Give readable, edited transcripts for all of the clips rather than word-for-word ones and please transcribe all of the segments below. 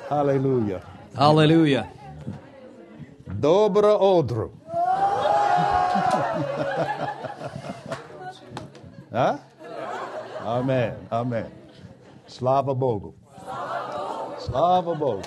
Hallelujah. Аллилуйя. Dobro odru. Huh? Amen. Amen. Slava Bogu. Slava Bogu.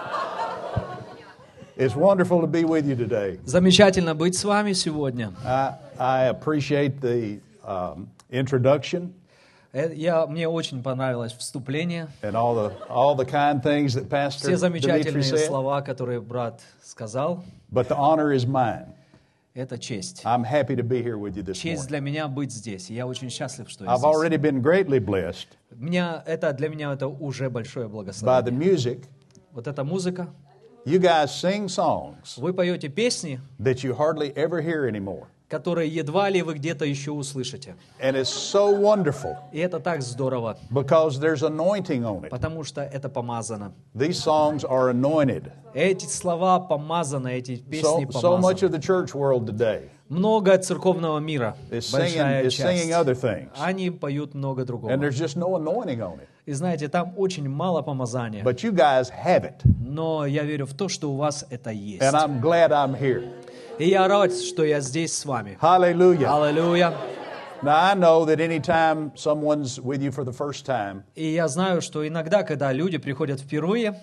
It's wonderful to be with you today. Замечательно быть с вами сегодня. I appreciate the introduction Мне очень понравилось вступление. and all the kind things that Pastor Все Dimitri замечательные said. слова, которые брат сказал, But the honor is mine. это честь. I'm happy to be here with you this Честь morning. для меня быть здесь. Я очень счастлив, что я I've здесь. already been greatly blessed Для меня это уже большое by the благословение. music. Вот эта музыка. You guys sing songs Вы поете песни, that you hardly ever hear anymore. которые едва ли вы где-то еще услышите. And it's so wonderful И это так здорово, because there's anointing on it. потому что это помазано. These songs are anointed. Эти слова помазаны, эти песни So much помазаны. of the church world today Много церковного мира, is большая singing часть. other things. Они поют много другого. And there's just no anointing on it. И знаете, там очень мало помазания. But you guys have it. Но я верю в то, что у вас это есть. And I'm glad I'm here. И я рад, что я здесь с вами. Hallelujah. Аллилуйя. Now I know that anytime someone's with you for the first time, И я знаю, что иногда, когда люди приходят впервые,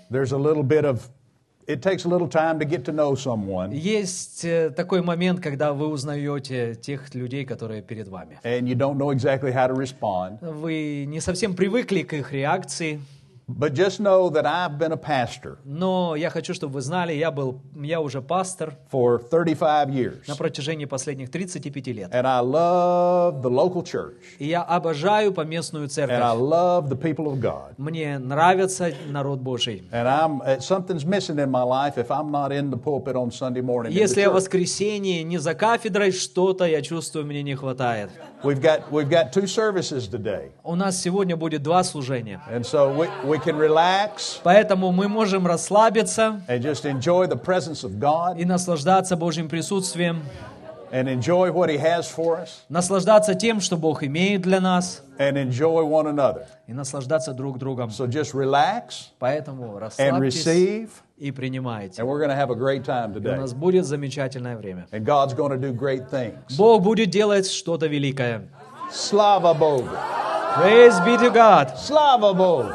it takes a little time to get to know someone. есть такой момент, когда вы узнаете тех людей, которые перед вами. And you don't know exactly how to respond. Вы не совсем привыкли к их реакции, But just know that I've been a pastor но я хочу, чтобы вы знали, я уже пастор for 35 years. на протяжении последних 35 лет. And I love the local church. И я обожаю поместную And I церковь. love the people of God. Мне нравится народ Божий. And something's missing in my life if I'm not in the pulpit on Sunday morning. in the Если я в church. воскресенье не за кафедрой, что-то, я чувствую, мне не хватает. We've got two services today. У нас сегодня будет 2 служения. And so we can relax Поэтому мы можем расслабиться and just enjoy the presence of God и наслаждаться Божьим присутствием, and enjoy what He has for us наслаждаться тем, что Бог имеет для нас, and enjoy one another. и наслаждаться друг другом. So just relax Поэтому and расслабьтесь receive, и принимайте. and we're going to have a great time И у today. нас будет замечательное время. And God's going to do great things. Бог будет делать что-то великое. Slava Bogu. Praise be to God. Slava Bogu.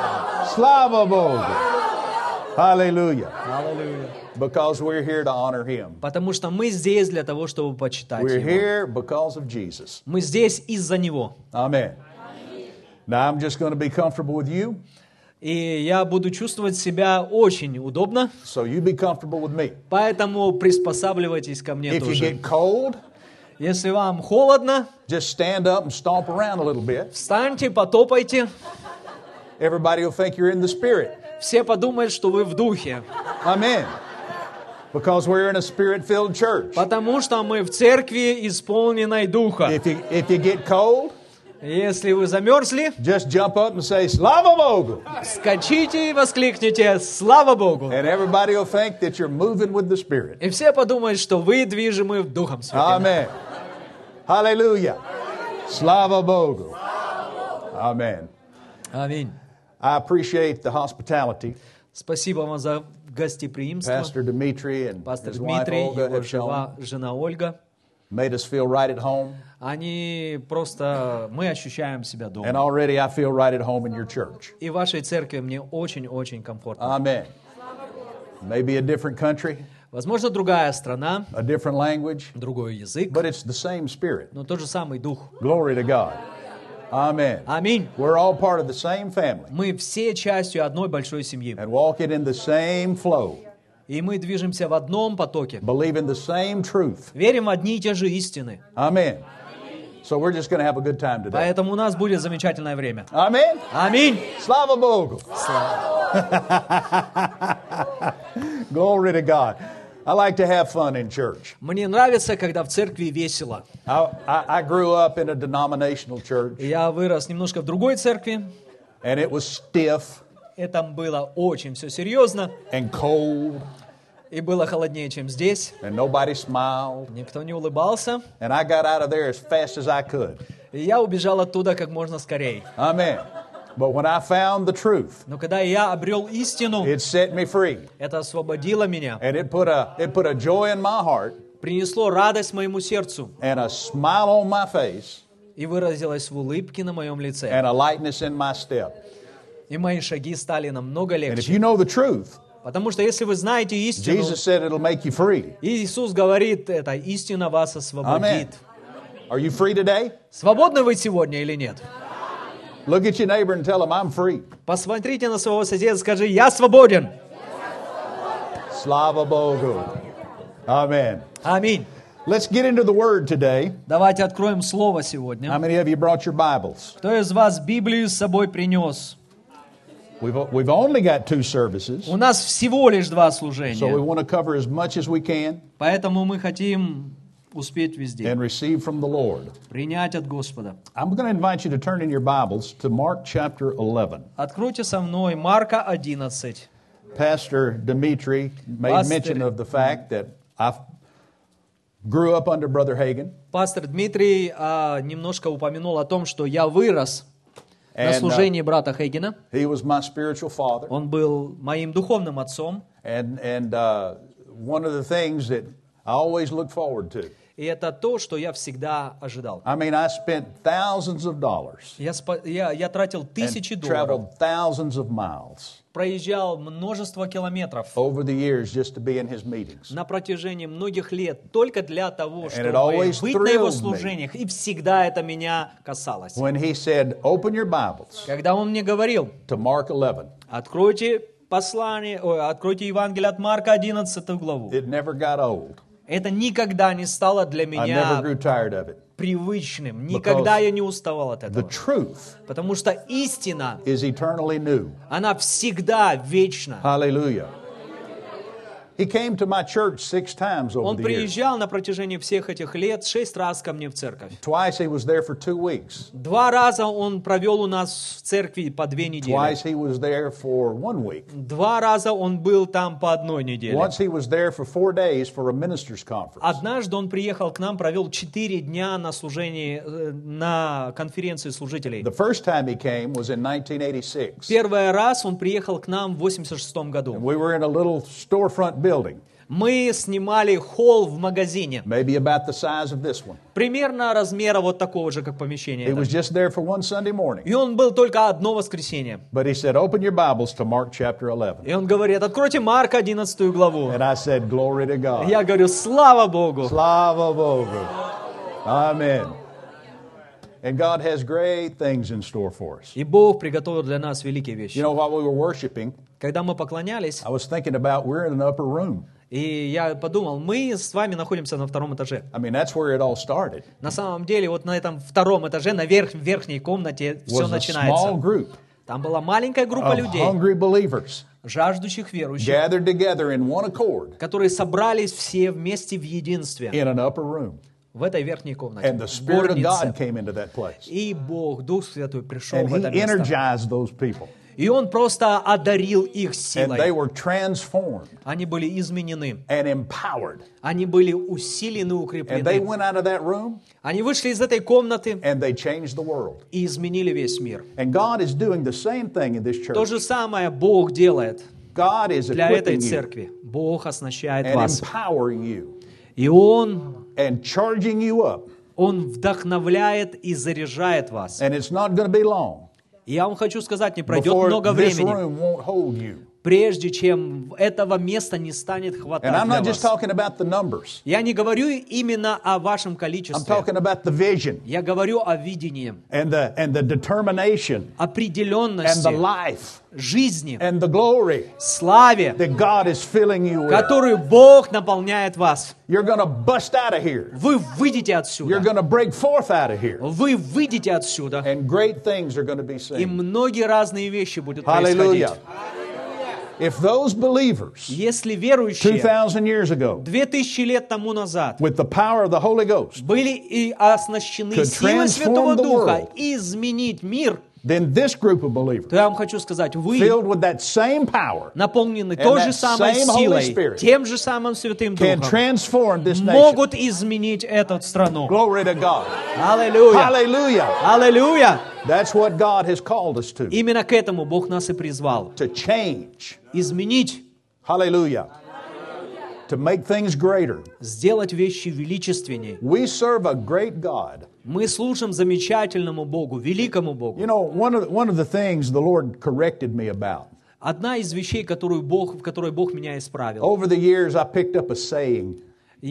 Slava Bogu. Hallelujah. Аллилуйя. Because we're here to honor Him. Потому что мы здесь для того, чтобы почитать We're Его. here because of Jesus. Мы здесь из-за Него. Amen. Now I'm just going to be comfortable with you, И я буду чувствовать себя очень удобно, so you be comfortable with me. поэтому приспосабливайтесь ко мне If you тоже. get cold, Если вам холодно, just stand up and stomp around a little bit. встаньте, потопайте. Everybody will think you're in the Spirit. Все подумают, что вы в духе. Amen. Because we're in a Spirit-filled church. Потому что мы в церкви, исполненной духа. If you get cold, Если вы замерзли, just jump up and say, Slava Bogu. скачите и воскликните «Слава Богу!». And everybody will think that you're moving with the Spirit. И все подумают, что вы движимы Духом Святым. Amen. Hallelujah. Slava Bogu. Amen. Аминь. I appreciate the hospitality Спасибо вам за гостеприимство. Pastor Dimitri and Пастор his wife Дмитрий, Olga его have shown. жена Ольга. Made us feel right at home. Они просто, мы ощущаем себя And дома. already I feel right at home in your church. И в вашей церкви мне очень-очень комфортно. Amen. Maybe a different country, Возможно, другая страна, a different language, другой язык, but it's the same Spirit. но тот же самый Дух. Glory to God. Amen. Аминь. We're all part of the same family Мы все частью одной большой семьи. and walking in the same flow, И мы движемся в одном потоке. believing the same truth. Верим в одни и те же истины. Amen. So we're just going to have a good time today. Поэтому у нас будет замечательное время. Amen. Аминь. Slava Bogu. Glory to God. I like to have fun in church. Мне нравится, когда в церкви весело. I grew up in a denominational church, Я вырос немножко в другой церкви. and it was stiff Это было очень все серьезно. and cold, И было холоднее, чем здесь. and nobody smiled. Никто не улыбался. And I got out of there as fast as I could. И я убежал оттуда как можно скорее. Amen. But when I found the truth, Но когда я обрел истину, it set me free. это освободило меня, And it put a joy in my heart принесло радость моему сердцу and a smile on my face и выразилось в улыбке на моем лице. and a lightness in my step. И мои шаги стали намного And if легче. you know the truth, Потому что если вы знаете истину, Jesus said it'll make you free. Иисус говорит, эта истина вас освободит. Are you free today? Свободны вы сегодня или нет? Look at your neighbor and tell him, I'm free. Посмотрите на своего соседа и скажи, я свободен. Slava Bogu. Amen. Аминь. Let's get into the Word today. Давайте откроем Слово How сегодня. many of you brought your Bibles? Кто из вас Библию с собой принес? We've only got 2 services, У нас всего лишь 2 so we служения, want to cover as much as we can поэтому мы хотим успеть везде, and receive from the Lord. принять от Господа. I'm going to invite you to turn in your Bibles to Mark chapter 11. Откройте со мной Марка 11. Pastor Dimitri made Pastor- mention of the fact that I grew up under Brother Hagin. Пастор Дмитрий немножко упомянул о том, что я вырос на And, служении брата Хейгена. He was my spiritual father. Он был моим духовным отцом. And one of the things that I always look forward to. И это то, что я всегда ожидал. I mean, I spent thousands of dollars Я тратил тысячи and долларов, traveled thousands of miles проезжал множество километров over the years just to be in his meetings. на протяжении многих лет только для того, it чтобы always быть на его thrilled me. служениях. И всегда это меня касалось. When he said, open your Bibles Когда он мне говорил, to Mark 11, откройте откройте Евангелие от Марка 11 главу. it never got old. Это никогда не стало для I never меня grew tired of it. привычным. Никогда я не уставал от The этого. truth Потому что истина, is eternally new. она всегда вечна. Hallelujah. He came to my church 6 times over Он the years. приезжал на протяжении всех этих лет 6 раз ко мне в церковь. Twice he was there for 2 weeks. 2 раза он провел у нас в церкви по 2 недели. Twice he was there for 1 week. 2 раза он был там по 1 неделе. Once he was there for 4 days for a minister's conference. Однажды он приехал к нам, провел 4 дня на служении, на конференции служителей. The first time he came was in 1986. Первый раз он приехал к нам в 86 году. We were in a little storefront building, Мы снимали холл в магазине, maybe about the size of this one. примерно размера вот такого же, как помещение. He это. was just there for one Sunday morning. И он был только одно воскресенье. But he said, open your Bibles to Mark chapter 11. И он говорит, откройте Марка 11 главу. And I said, glory to God. Я говорю, слава Богу. Slava Bogu. Amen. And God has great things in store for us. И Бог приготовил для нас великие вещи. You know, while we were worshiping, Когда мы поклонялись, I was thinking about we're in an upper room. и я подумал, мы с вами находимся на 2 этаже. I mean, that's where it all started. На самом деле, вот на этом 2 этаже, в верхней комнате все Was a small начинается. group Там была маленькая группа of людей, hungry believers жаждущих верующих, gathered together in one accord которые собрались все вместе в единстве in an upper room. в этой верхней комнате, And the в Spirit of God горнице. came into that place. И Бог, Дух Святой, пришел And в He это место. energized those people. И Он просто одарил их And they силой. were transformed Они были изменены. and empowered. Они были усилены, And they укреплены. went out of that room Они вышли из этой комнаты and they changed the world. и изменили весь мир. And God is doing the same thing in this То church. же самое Бог делает God is для этой equipping you церкви. Бог оснащает and вас. empowering you И Он and charging you up. вдохновляет и заряжает вас. And it's not going to be long И я вам хочу сказать, не пройдет before много this времени, room won't hold you. прежде чем этого места не станет And хватать I'm для not just вас. talking about the numbers. Я не говорю именно о вашем I'm количестве. talking about the vision Я говорю о видении, and the determination and определенности, the life жизни, and the glory славе, that God is filling you with. которую Бог наполняет вас. You're going to bust out of here. Вы выйдете You're отсюда. going to break forth out of here. Вы выйдете отсюда. And great things are going to be И seen. многие разные вещи будут Hallelujah. происходить. If those believers Если верующие 2,000 years ago 2000 лет тому назад with the power of the Holy Ghost были и оснащены could силой transform Святого the Духа world, изменить мир, then this group of believers, то я вам хочу сказать, вы filled with that same power, наполнены and той that же самой same Holy силой, Spirit тем же самым Святым can Духом, transform this nation. могут изменить эту страну. Glory to God. Аллилуйя! Hallelujah. Аллилуйя! That's what God has called us to Именно к этому Бог нас и призвал. change. Изменить, Hallelujah. To make things greater. сделать вещи величественнее. We serve a great God. Мы служим замечательному Богу, великому Богу. You know, one of the things the Lord corrected me about. Одна из вещей, в которой Бог меня исправил. Over the years, I picked up a saying,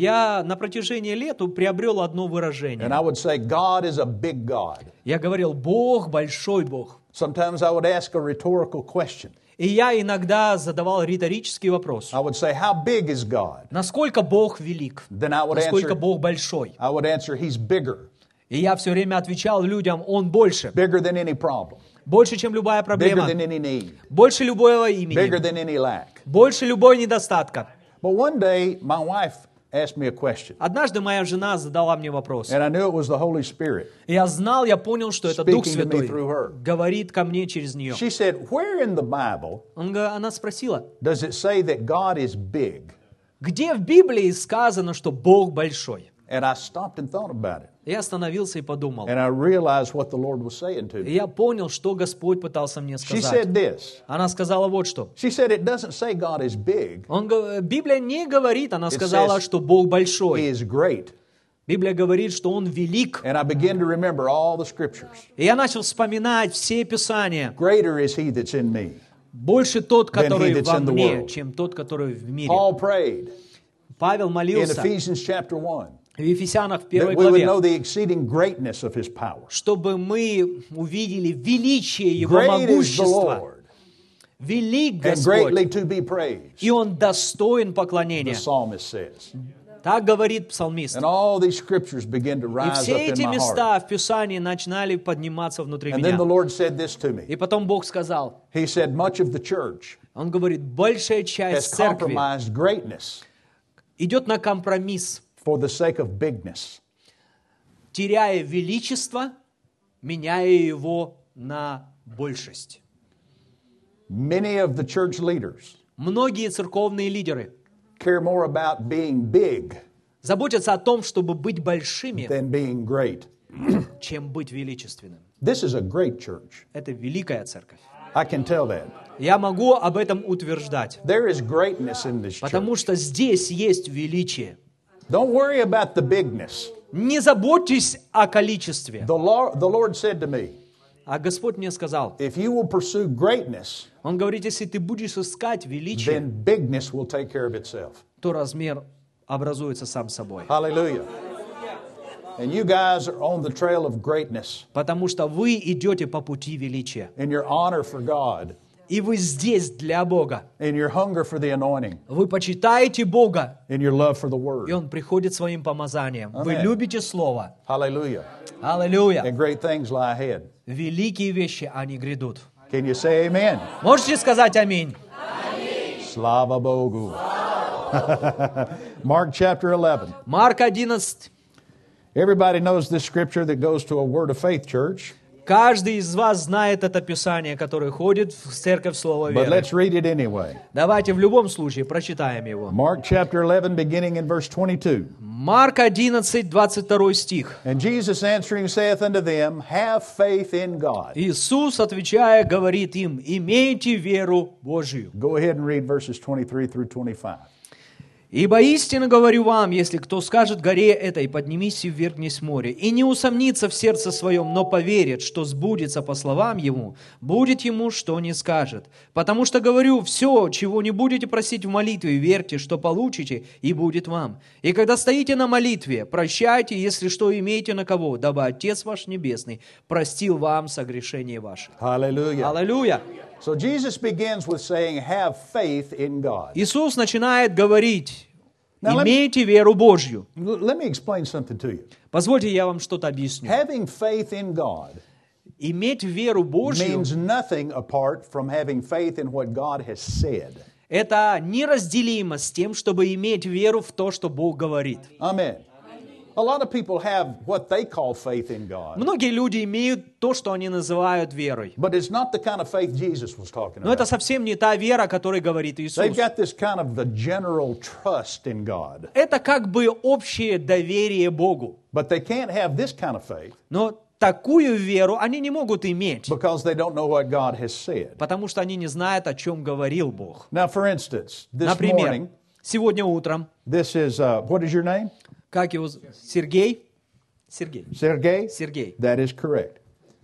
Я на протяжении лет приобрел одно and выражение. I would say, God is a big God. Я говорил, Бог большой Бог. Sometimes I would ask a rhetorical question. И я иногда задавал риторический вопрос. I would say, how big is God? Насколько Бог велик? Then I would Насколько answer, Бог большой? I would answer, He's bigger. И я все время отвечал людям, Он больше. Bigger than any problem. Больше, чем любая Bigger проблема. than any need. Больше любого Bigger имени. than any lack. Больше любой недостатка. But one day, my wife asked me a question. Однажды моя жена задала мне вопрос. And I knew it was the Holy Spirit. И я знал, я понял, что это Дух Speaking to me Святой through her. говорит ко мне через нее. She said, where in the Bible Она спросила, does it say that God is big? где в Библии сказано, что Бог большой? And I stopped and thought about it. Я остановился и подумал. And I realized what the Lord was saying to И me. я понял, что Господь пытался мне She сказать. said this. Она сказала вот что. She said, it doesn't say God is big. Библия не говорит, она It сказала, says что Бог He большой. is great. Библия говорит, что Он велик. And I began to remember all the scriptures. И я начал вспоминать все Писания. Greater is He that's in me. Больше тот, Than he который that's во in the мне, world. чем тот, который в мире. Paul prayed Павел in молился Ephesians chapter 1 в Ефесянах в that первой we would главе, know the exceeding greatness of His power. чтобы мы увидели величие Его Great is the могущества. Lord Велик and greatly Господь, to be praised, и Он достоин the поклонения. psalmist says. Так говорит псалмист. And all these scriptures begin to И rise все up in эти my heart. места в Писании начинали подниматься внутри And then меня. the Lord said this to me. И потом Бог сказал, He said, much of the church Он говорит, большая has часть церкви compromised greatness идет на компромисс, for the sake of bigness. теряя величество, меняя его на большесть. Many of the church leaders Многие церковные лидеры care more about being big заботятся о том, чтобы быть большими, than being great. чем быть величественным. This is a great church. Это великая церковь. I can tell that. Я могу об этом утверждать, There is greatness in this church. потому что здесь есть величие. Don't worry about the bigness. Не заботьтесь о количестве. The Lord said to me, А Господь мне сказал, if you will pursue greatness, Он говорит, если ты будешь искать величие, then bigness will take care of itself. то размер образуется сам собой. Hallelujah. And you guys are on the trail of greatness Потому что вы идете по пути величия. in your honor for God, И вы здесь для Бога. in your hunger for the anointing, Вы почитаете Бога, in your love for the и Word. Он приходит своим помазанием. Вы Amen. любите Слово. Hallelujah. Аллилуйя. And great things lie ahead. Великие вещи, они грядут. Can you say amen? Можете сказать аминь? Slava Bogu. Mark chapter 11. Марк 11. Everybody knows this scripture that goes to a Word of Faith church, Каждый из вас знает это Писание, которое ходит в церковь Слова but Веры. let's read it anyway. Давайте в любом случае прочитаем его. Mark chapter 11, beginning in verse 22. Марк 11, 22 стих. And Jesus answering saith unto them, have faith in God. Иисус, отвечая, говорит им, имейте веру Божию. Go ahead and read verses 23 through 25. Ибо истинно говорю вам, если кто скажет горе этой, поднимись и ввергнись в море, и не усомнится в сердце своем, но поверит, что сбудется по словам ему, будет ему, что не скажет. Потому что говорю, все, чего не будете просить в молитве, верьте, что получите, и будет вам. И когда стоите на молитве, прощайте, если что имеете на кого, дабы Отец ваш Небесный простил вам согрешения ваши. Hallelujah. Аллилуйя! So Jesus begins with saying, have faith in God. Иисус начинает говорить, Now, let me- имейте веру Божью. Let me explain something to you. Позвольте, я вам что-то объясню. Having faith in God Иметь веру Божью means nothing apart from having faith in what God has said. – это неразделимо с тем, чтобы иметь веру в то, что Бог говорит. Amen. A lot of people have what they call faith in God, Многие люди имеют то, что они называют верой. but it's not the kind of faith Jesus was talking Но это about. совсем не та вера, о которой говорит Иисус. They've got this kind of the general trust in God, Это как бы общее доверие Богу. but they can't have this kind of faith Но такую веру они не могут иметь, because they don't know what God has said. потому что они не знают, о чем говорил Бог. Now, for instance, this Например, morning, сегодня утром, this is, what is your name? как его Сергей? Сергей. Sergey? Сергей. That is correct.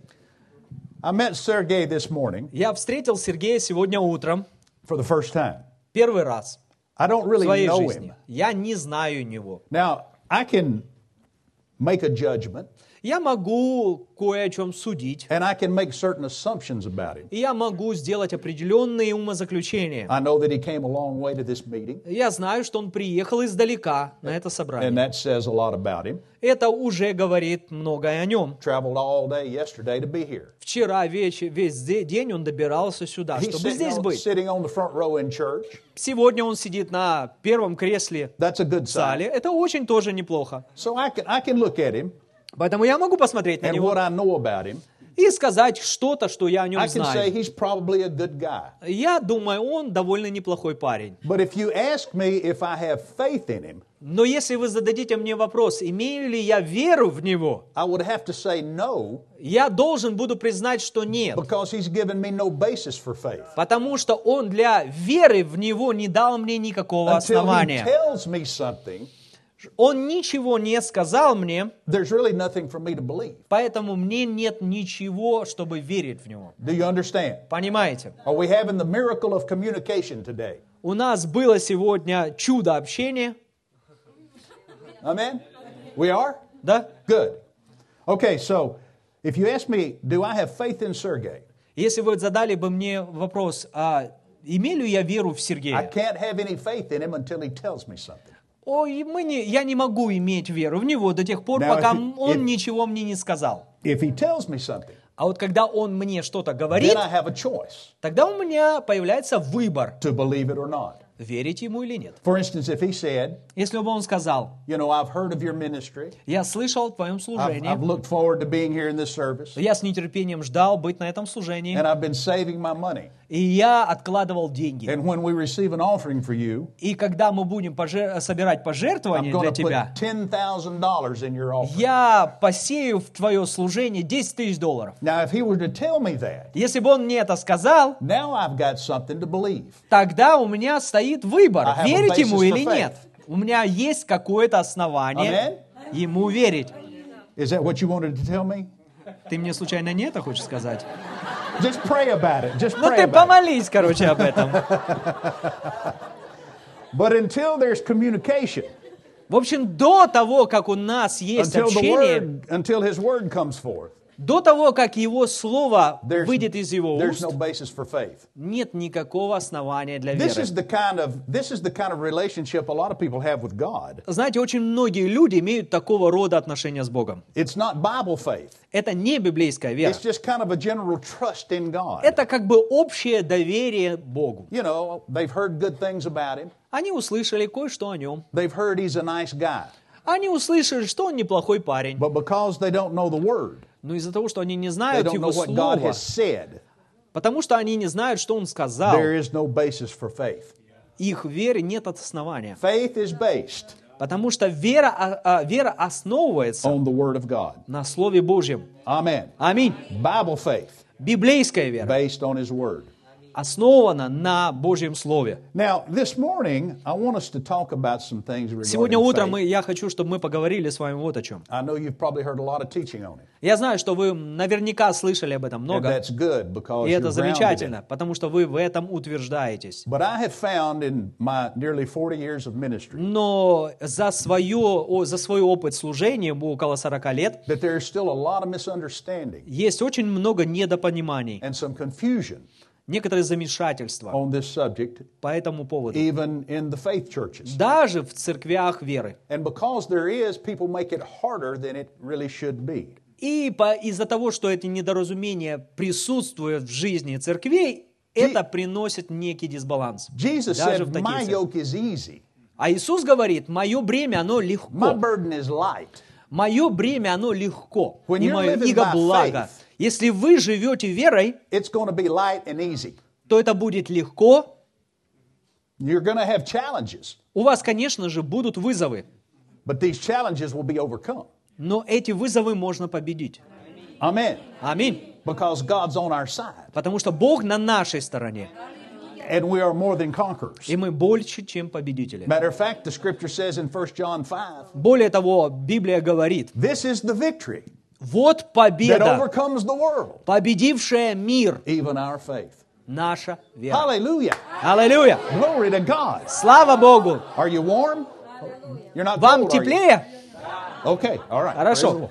I met Sergey this morning Я встретил Сергея сегодня утром for the first time. первый раз I don't в really своей know жизни. him. Я не знаю него. Now, I can make a judgment, Я могу кое о чем судить, and I can make certain assumptions about him. и я могу сделать определенные умозаключения. I know that he came a long way to this meeting, Я знаю, что он приехал издалека на это and собрание. that says a lot about him. Это уже говорит многое о нем. Traveled all day yesterday to be here. Вчера весь день он добирался сюда, He's чтобы здесь быть. sitting on the front row in church. Сегодня он сидит на первом кресле That's a good в зале. sign. Это очень тоже неплохо. So I can look at him Поэтому я могу посмотреть на and него what I know about him. и сказать что-то, что я о I нем can say знаю. he's probably a good guy. Я думаю, он довольно неплохой парень. But if you ask me if I have faith in him, Но если вы зададите мне вопрос, имею ли я веру в него, I would have to say no, я должен буду признать, что нет. because he's given me no basis for faith. Потому что он для веры в него не дал мне никакого Until he основания. tells me something, Он ничего не сказал мне, there's really nothing for me to believe. поэтому мне нет ничего, чтобы верить в него. Do you understand? Понимаете? Are we having the miracle of communication today? У нас было сегодня чудо общения, Amen? We are? да? Good. Okay, so if you ask me, do I have faith in Sergey? Если вы задали бы мне вопрос, а имею ли я веру в I Сергея? can't have any faith in him until he tells me something. Ой, я не могу иметь веру в него до тех пор, Now, пока if он ничего мне не сказал. If he tells me something, А вот когда он мне что-то then говорит, I have a choice тогда у меня появляется выбор, to believe it or not. верить ему или нет. For instance, if he said, Если бы он сказал, you know, I've heard of your ministry, я слышал о твоем I've служении, looked forward to being here in this service, я с нетерпением ждал быть на этом служении, and I've been saving my money. и я откладывал деньги. And when we receive an offering for you, И когда мы будем собирать I'm пожертвования going для to тебя, put $10,000 in your offering. я посею в твое служение $10 000. Now, if he were to tell me that, Если бы он мне это сказал, now I've got something to believe. тогда у меня стоит выбор, I have a верить ему basis или for faith. нет. У меня есть какое-то основание ему верить. Is that what you wanted to tell me? Ты мне случайно не это хочешь сказать? Just pray about it. Just Ну pray ты about it. помолись, короче, об этом. But until there's communication, В общем, до того, как у нас есть общение, until his word comes forth, до того, как его слово there's, выйдет из его there's уст, no basis for faith. нет никакого основания для This веры. is the kind of relationship a lot of people have with God. Знаете, очень многие люди имеют такого рода отношения с Богом. It's not Bible faith. Это не библейская вера. It's just kind of a general trust in God. Это как бы общее доверие Богу. You know, they've heard good things about him. Они услышали кое-что о нем. They've heard he's a nice guy. Они услышали, что он неплохой парень. But because they don't know the word, Но из-за того, что они не they знают don't его know what God слова, has said, потому что они не знают, что он сказал, there is no basis for faith. их вере нет основания. Faith is based Потому что вера основывается on the word of God. на Слове Божьем. Amen. Аминь. Bible faith Библейская вера based on his word. основана на Божьем Слове. Now, this morning, I want us to talk about some things Сегодня regarding утром faith. я хочу, чтобы мы поговорили с вами вот о чем. I know you've probably heard a lot of teaching on it. Я знаю, что вы наверняка слышали об этом And много, that's good because и you're это grounded in it. замечательно, потому что вы в этом утверждаетесь. But I have found in my nearly 40 years of ministry Но за свой опыт служения, около 40 лет, that there is still a lot of misunderstanding есть очень много недопониманий, and some confusion некоторые замешательства on this subject, по этому поводу. even in the faith churches. Даже в церквях веры. And because there is, people make it harder than it really should be. И из-за того, что эти недоразумения присутствуют в жизни церквей, это приносит некий дисбаланс. Jesus Даже said, в таких my церквях. yoke is easy. А Иисус говорит, мое бремя, оно My легко. burden is light. Мое бремя, оно легко. When И you're мое living иго by благо. faith, Если вы живете верой, It's going to be light and easy. то это будет легко. You're going to have challenges, У вас, конечно же, будут вызовы. but these challenges will be overcome. Но эти вызовы можно победить. Amen. Аминь. Because God's on our side. Потому что Бог на нашей стороне. And we are more than conquerors. И мы больше, чем победители. Matter of fact, the scripture says in 1 John 5, Более того, Библия говорит, this is the victory вот that победа, overcomes the world, победившая мир, even our faith. наша вера. Hallelujah. Аллилуйя! Glory to God. Слава Богу! Are you warm? You're not Вам cold, are you? теплее? Okay, all right. Хорошо. Praise the Lord.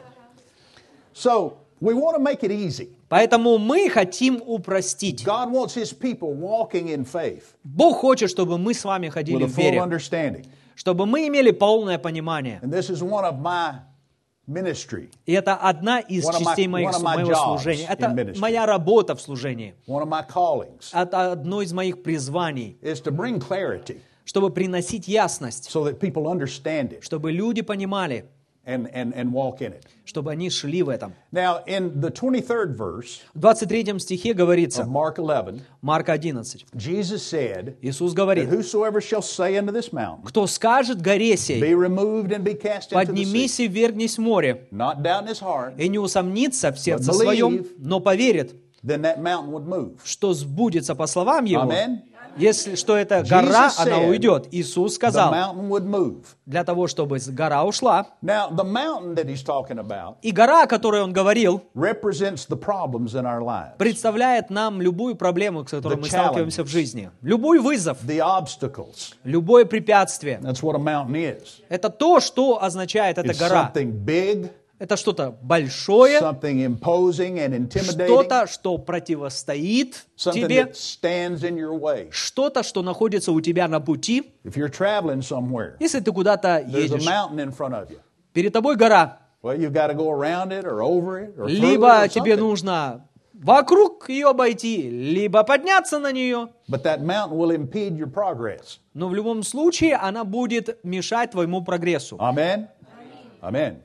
So, we want to make it easy. Поэтому мы хотим упростить. God wants His people walking in faith Бог хочет, чтобы мы с вами ходили with a в full вере, understanding. чтобы мы имели полное понимание. And this is one of my ministry, И это одна из One of my- частей one of my моего jobs служения. in Это ministry. моя работа в служении. one of my callings, Это одно из моих призваний, is to bring clarity чтобы приносить ясность, so that people understand it чтобы люди понимали, and walk in it. чтобы они шли в этом. Now, in the 23rd verse В 23 стихе of говорится, Mark 11, Марка 11, Jesus said, Иисус that говорит, whosoever shall say unto this mountain, кто скажет горе сей, be removed and be cast into the sea, поднимись и ввергнись в море, not doubt in his heart, и не усомнится в сердце But believe. своем, но поверит, then that mountain would move. что сбудется по словам его, Amen. если что эта гора, Jesus она said уйдет. Иисус The сказал, mountain would move. для того, чтобы гора ушла. Now, the mountain that he's talking about И гора, о которой он говорил, represents the problems in our lives, представляет нам любую проблему, с которой The мы сталкиваемся в challenges. жизни. Любой вызов, the obstacles. любое препятствие. That's what a mountain is. Это то, что означает эта It's гора. something big, Это что-то большое, something imposing and intimidating, что-то, что противостоит something тебе, that stands in your way. что-то, что находится у тебя на пути. If you're traveling somewhere, Если ты куда-то there's a едешь, mountain in front of you. перед тобой гора, Well, you've got to go around it or over it or through it либо or тебе something. нужно вокруг ее обойти, либо подняться на нее. But that mountain will impede your progress. Но в любом случае она будет мешать твоему прогрессу. Amen? Amen.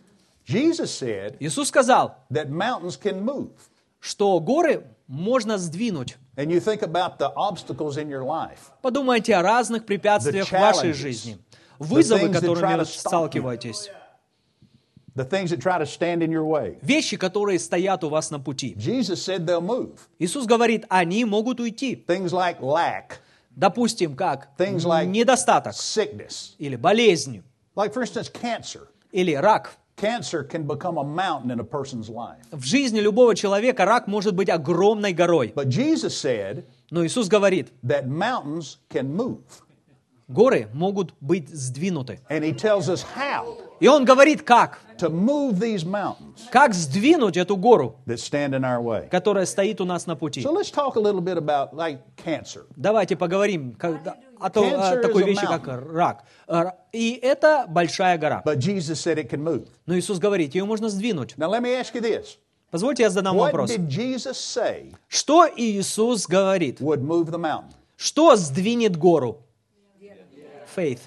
Jesus said Иисус сказал, that mountains can move. что горы можно сдвинуть. And you think about the obstacles in your life. Подумайте о разных препятствиях в The вашей challenges, жизни. Вызовы, things that которыми try вы to stop you. сталкиваетесь. The things that try to stand in your way. Вещи, которые стоят у вас на пути. Jesus said they'll move. Иисус говорит, они могут уйти. Things like lack, Допустим, как Things like- недостаток sickness. или болезнь, Like, for instance, cancer. или рак. Cancer can become a mountain in a person's life. В жизни любого человека рак может быть огромной горой. But Jesus said Но Иисус говорит, that mountains can move. горы могут быть сдвинуты. And he tells us how И Он говорит, как? to move these mountains Как сдвинуть эту гору, that stand in our way. которая стоит у нас на пути. So let's talk a little bit about like cancer. Давайте поговорим о Cancer такой is a вещи, как mountain. рак. И это большая гора. But Jesus said it can move. Но Иисус говорит, ее можно сдвинуть. Now let me ask you this. Позвольте я задам What вопрос. did Jesus say Что Иисус говорит? would move the mountain? Что сдвинет гору? Faith.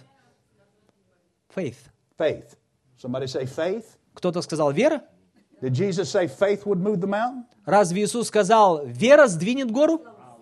Faith. Faith. Somebody say faith? Кто-то сказал вера? Did Jesus say faith would move the mountain? Разве Иисус сказал, вера сдвинет гору?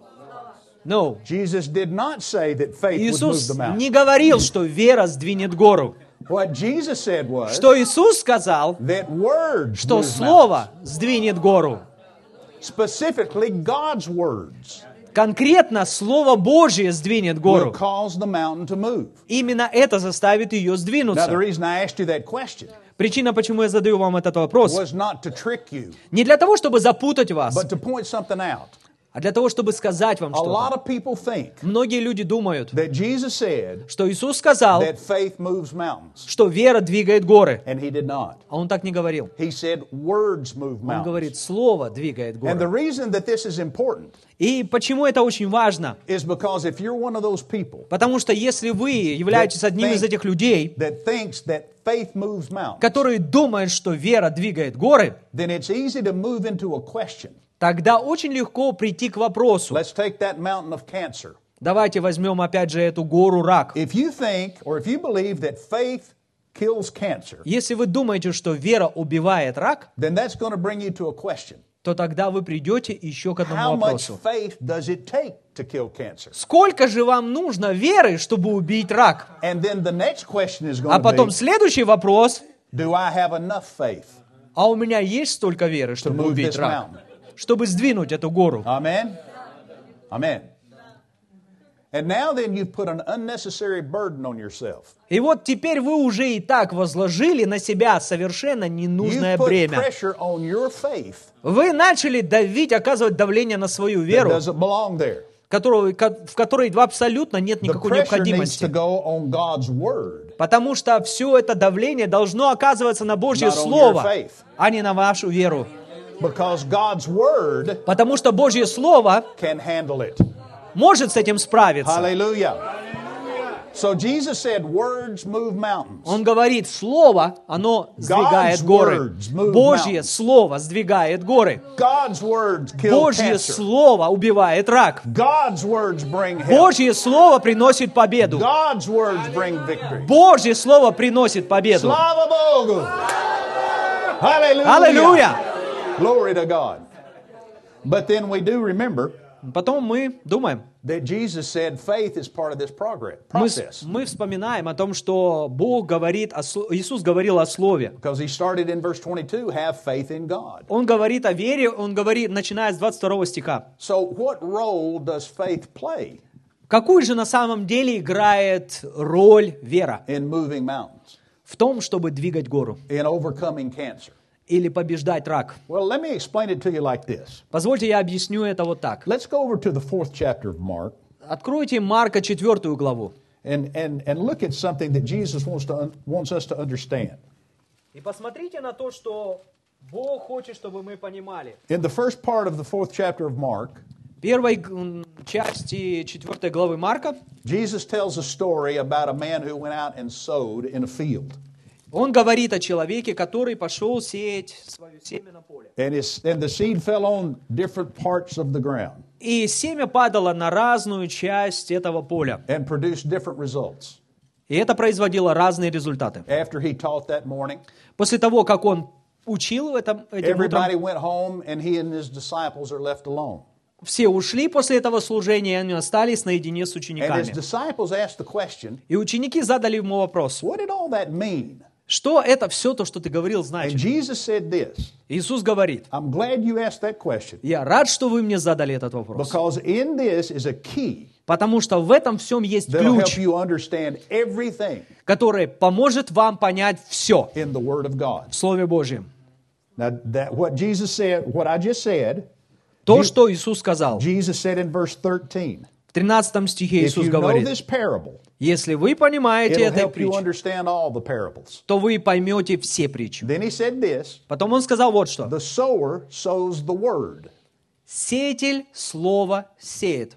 No. Jesus did not say that faith would move Иисус the mountain. не говорил, что вера сдвинет гору. What Jesus said was Что Иисус сказал, that words что move Слово сдвинет гору. mountains. Specifically, God's words Конкретно Слово Божье сдвинет will гору. cause the mountain to move. Именно это заставит ее Now, the сдвинуться. reason I asked you that question Причина, почему я задаю вам этот вопрос, was not to trick you, не для того, чтобы запутать вас, but to point something out. а для того, чтобы сказать вам A lot что-то. of people think Многие люди думают, that Jesus said что Иисус сказал, that faith moves mountains, что вера двигает горы. and he did not. А Он так не говорил. He said words move Он говорит, mountains. Слово двигает And the горы. reason that this is important И почему это очень важно? is because if you're one of those people Потому что если вы являетесь одним из этих людей, that thinks that faith moves mountains, которые думают, что вера двигает горы, then it's easy to move into a question. тогда очень легко прийти к вопросу. Let's take that mountain of cancer. Давайте возьмем опять же эту гору рак. If you think or if you believe that faith kills cancer, Если вы думаете, что вера убивает рак, then that's going to bring you to a question. то тогда вы придете еще к How одному much вопросу. faith does it take to kill cancer? Сколько же вам нужно веры, чтобы убить рак? And then the next question is А going to потом be, следующий вопрос. do I have enough faith? А у меня есть столько веры, чтобы move убить this рак? mountain. Чтобы сдвинуть эту гору? Amen? Amen. And now then you've put an unnecessary burden on yourself. И вот теперь вы уже и так возложили на себя совершенно ненужное You've put бремя. pressure on your faith Вы начали давить, оказывать давление на свою that веру, doesn't belong there. в которой абсолютно нет The никакой pressure needs to необходимости. go on God's word, Потому что все это давление должно оказываться на Божье not on your Слово, faith. а не на вашу веру. Because God's word Потому что Божье Слово can handle it. может с этим справиться. Hallelujah. So Jesus said, words move mountains. Он говорит, Слово, оно сдвигает горы. words move Божье mountains. Слово сдвигает горы. God's words kill Божье cancer. Слово убивает рак. God's words bring health. Божье Слово приносит победу. God's words bring victory. Божье Слово приносит победу. Slava Bogu. Hallelujah. Аллилуйя! Glory to God. But then we do remember Потом мы думаем, that Jesus said faith is part of this process. мы вспоминаем о том, что Бог говорит, Иисус говорил о Слове. Because he started in verse 22, have faith in God. Он говорит о вере, он говорит, начиная с 22 стиха. So what role does faith play Какую же на самом деле играет роль вера in moving mountains, в том, чтобы двигать гору in overcoming cancer? или побеждать рак? Well, let me explain it to you like this. Позвольте, я объясню это вот так. Let's go over to the 4th chapter of Mark Откройте Марка 4 главу and look at something that Jesus wants us to understand. и посмотрите на то, что Бог хочет, чтобы мы понимали. In the first part of the 4th chapter of Mark, Первой части 4 главы Марка Jesus tells a story about a man who went out and sowed in a field. он говорит о человеке, который пошел сеять свое семя на поле. And the seed fell on different parts of the ground И семя падало на разную часть этого поля. and produced different results. И это производило разные результаты. After he taught that morning, После того, как он учил этим everybody утром, went home and he and his disciples are left alone. все ушли после этого служения, и они остались наедине с And his учениками. disciples asked the question, И ученики задали ему вопрос, what did all that mean? что это все то, что ты говорил, And значит? Jesus said this, Иисус говорит, I'm glad you asked that question я рад, что вы мне задали этот вопрос, because in this is a key потому что в этом всем есть that'll help ключ, you understand everything который поможет вам понять все in the Word of God. в Слове Божьем. Now, what Jesus said, what I just said, То, что Иисус сказал. Jesus said in verse 13, В 13 стихе if Иисус you know говорит, this parable, если вы понимаете it'll эту help you притчу, understand all the parables. то вы поймете все притчи. Then he said this, Потом он сказал вот что. the sower sows the word. Сеятель слово сеет.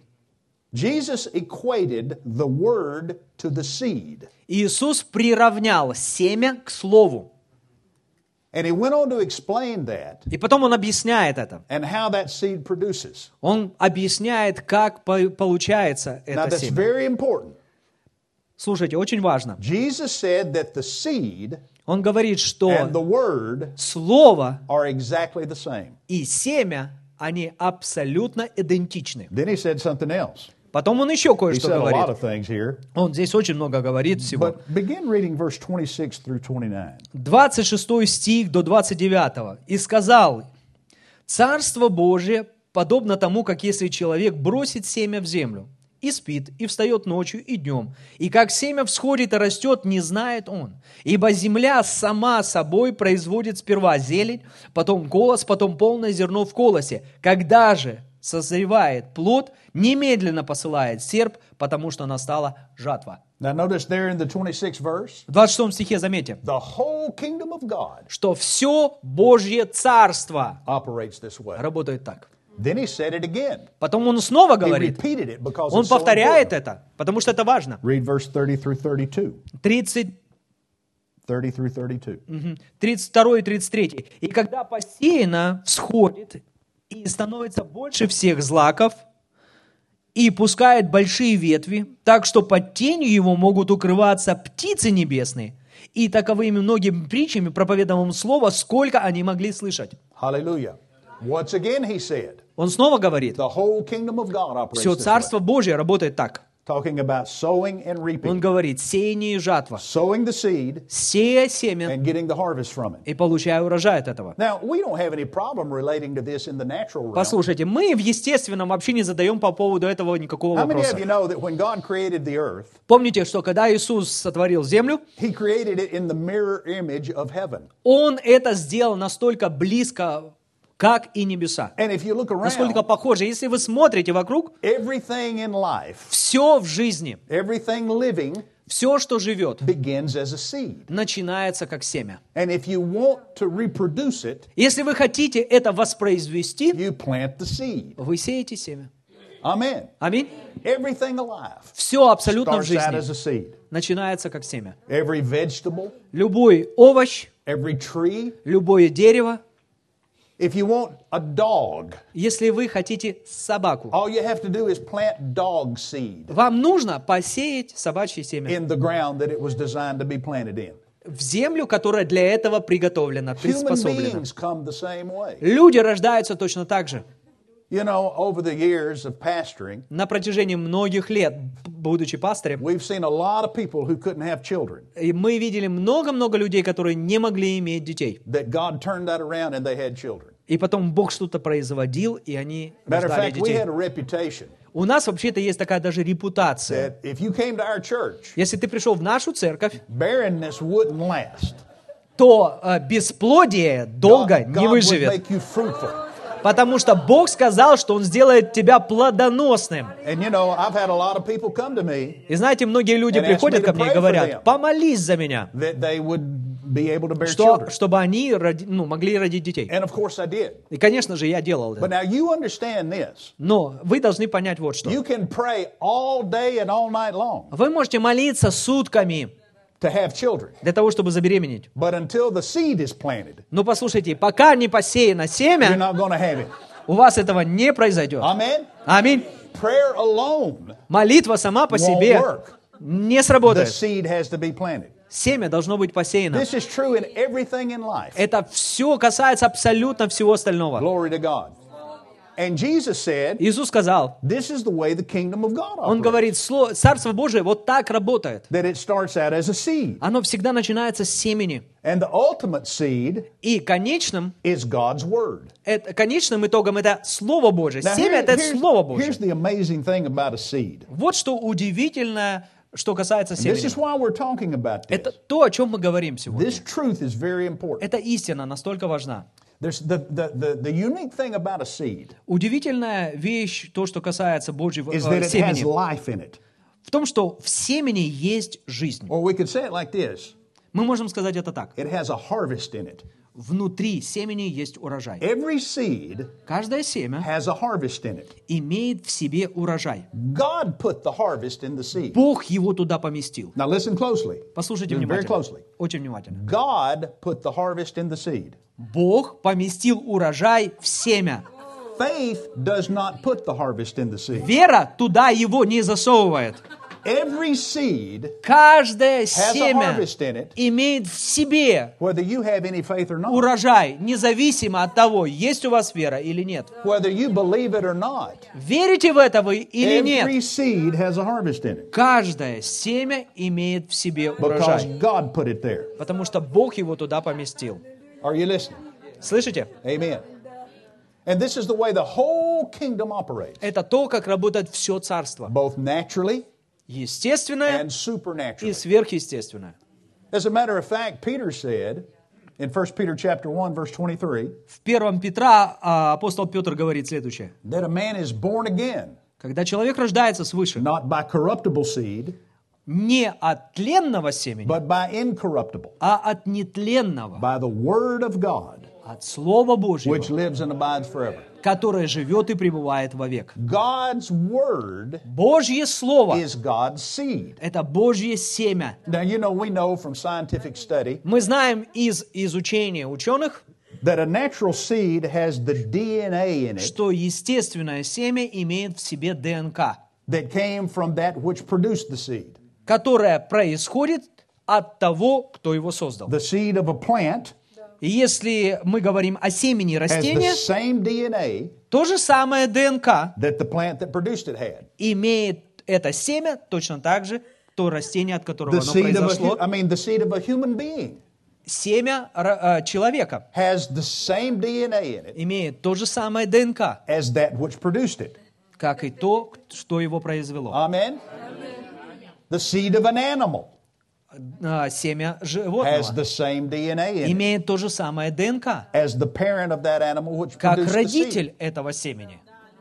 Jesus equated the word to the seed. Иисус приравнял семя к слову. And he went on to explain that И потом он объясняет это. and how that seed produces. Он объясняет, как получается Now это that's семя. very important. Слушайте, очень важно. Jesus said that the seed Он говорит, что and the word слово are exactly the same. и семя, они абсолютно идентичны. Then he said something else. Потом он еще He кое-что said a lot говорит. of things here. Он здесь очень много говорит всего. But begin reading verse 26 through 29. 26 стих до 29. «И сказал, Царство Божие подобно тому, как если человек бросит семя в землю, и спит, и встает ночью и днем, и как семя всходит и растет, не знает он. Ибо земля сама собой производит сперва зелень, потом колос, потом полное зерно в колосе. Когда же созревает плод, немедленно посылает серп, потому что настала жатва». Now notice there in the 26th verse, В 26 стихе заметьте, the whole kingdom of God что все Божье Царство operates this way. работает так. Then he said it again. Потом он снова He говорит, repeated it because он it's so повторяет important. это, потому что это важно. Read verse 30 through 32. 30 through 32. 32 и 33. «И когда посеяно всходит и становится больше всех злаков, и пускает большие ветви, так что под тенью его могут укрываться птицы небесные. И таковыми многими притчами проповедовал слово, сколько они могли слышать. Hallelujah. Once again, he said, Он снова говорит, the whole kingdom of God operates все this way. Царство Божие работает так. Talking about sowing and Он reaping. говорит, сеяние и жатва. Sowing the seed Сея семя and getting the harvest from it. и получая урожай от этого. Now, we don't have any problem relating to this in the natural realm. Послушайте, мы в естественном вообще не задаем по поводу этого никакого How many вопроса. of you know that when God created the earth, Помните, что когда Иисус сотворил землю, He created it in the mirror image of heaven. Он это сделал настолько близко, как и небеса. And if you look Настолько around, похоже. Если вы смотрите вокруг, everything in life, все в жизни, everything living, все, что живет, begins as a seed. начинается как семя. And if you want to reproduce it, Если вы хотите это воспроизвести, you plant the seed. вы сеете семя. Amen. Аминь. Everything alive Все абсолютно в starts out as жизни a seed. начинается как семя. Every vegetable, Любой овощ, every tree. любое дерево, If you want a dog, если вы хотите собаку, all you have to do is plant dog seed вам нужно посеять собачье семя in the ground that it was designed to be planted in. в землю, которая для этого приготовлена, Human приспособлена. beings come the same way. Люди рождаются точно так же. You know, over the years of pastoring, На протяжении многих лет, будучи пастырем, we've seen a lot of people who couldn't have children, и мы видели много-много людей, которые не могли иметь детей. that God turned that around and they had children. И потом Бог что-то производил, и они Matter of рождали fact, we детей. had a reputation У нас вообще-то есть такая даже репутация. that if you came to our church, Если ты пришел в нашу церковь, barrenness wouldn't last. то бесплодие долго God не would выживет. make you fruitful. Потому что Бог сказал, что Он сделает тебя плодоносным. And you know, I've had a lot of people come to me И знаете, многие люди And ask приходят me to ко мне и pray for them. говорят, помолись за меня, that they would be able to bear children. чтобы они могли родить детей. And of course I did. И, конечно же, я делал But это. now you understand this. Но вы должны понять вот что. You can pray all day and all night long Вы можете молиться сутками to have children. для того, чтобы забеременеть. But until the seed is planted, Но послушайте, пока не посеяно you're семя, not going to have it. у вас этого не произойдет. Amen? Аминь. Prayer alone Молитва сама по won't себе work. не The сработает. seed has to be planted. Семя должно быть посеяно. This is true in everything in life. Это все касается абсолютно всего остального. Glory to God. And Jesus said, Иисус сказал, this is the way the kingdom of God Он operates. говорит, Царство Божие вот так работает. That it starts out as a seed. Оно всегда начинается с семени. And the ultimate seed И конечным is God's word. конечным итогом это Слово Божие. Now, Семя это Слово here's Божие. the amazing thing about a seed. Вот что удивительное, что касается This is семени. why we're talking about Это this. то, о чем мы говорим сегодня. This truth is very important. Эта истина настолько важна. There's the unique thing about a seed Удивительная вещь, то, что касается Божьего is that it has семени, life in it. в том, что в семени есть жизнь. Or we could say it like this. Мы можем сказать это так. It has a harvest in it. Внутри семени есть урожай. Every seed Каждое семя has a harvest in it. имеет в себе урожай. God put the harvest in the seed. Бог его туда поместил. Now listen closely. Послушайте Listen very внимательно. closely. Очень внимательно. God put the harvest in the seed. Бог поместил урожай в семя. Faith does not put the harvest in the seed. Вера туда его не засовывает. Every seed Каждое has a семя harvest in it, имеет в себе whether you have any faith or not. урожай, независимо от того, есть у вас вера или нет. Whether you believe it or not. Верите в это вы или Every нет? seed has a harvest in it. Каждое семя имеет в себе Because урожай, God put it there. потому что Бог его туда поместил. Are you listening? Слышите? Amen. And this is the way the whole kingdom operates, Это то, как работает все царство. both naturally Естественное and и supernaturally. сверхъестественное. As a matter of fact, Peter said in 1 Peter chapter 1 verse 23 В 1 Петра апостол Петр говорит следующее. that a man is born again, Когда человек рождается свыше, not by corruptible seed, не от тленного семени, but by incorruptible, а от нетленного, by the word of God, от Слова Божьего, which lives and abides forever. которое живет и пребывает вовек. God's word Божье Слово is God's seed. – это Божье семя. Now, you know, we know from scientific study Мы знаем из изучения ученых, that a natural seed has the DNA in it что естественное семя имеет в себе ДНК, that came from that which produced the seed. которое происходит от того, кто его создал. The seed of a plant И если мы говорим о семени has the растения, same DNA то же самое ДНК that the plant that produced it had. имеет это семя точно так же, то растение, от которого The оно seed произошло. the seed of a human being Семя человека has the same DNA in it имеет то же самое ДНК, as that which produced it. как и то, что его произвело. Amen? The seed of an animal Семя has животного the same DNA in it имеет то же самое ДНК, as the parent of that animal which как produced the seed. родитель этого семени.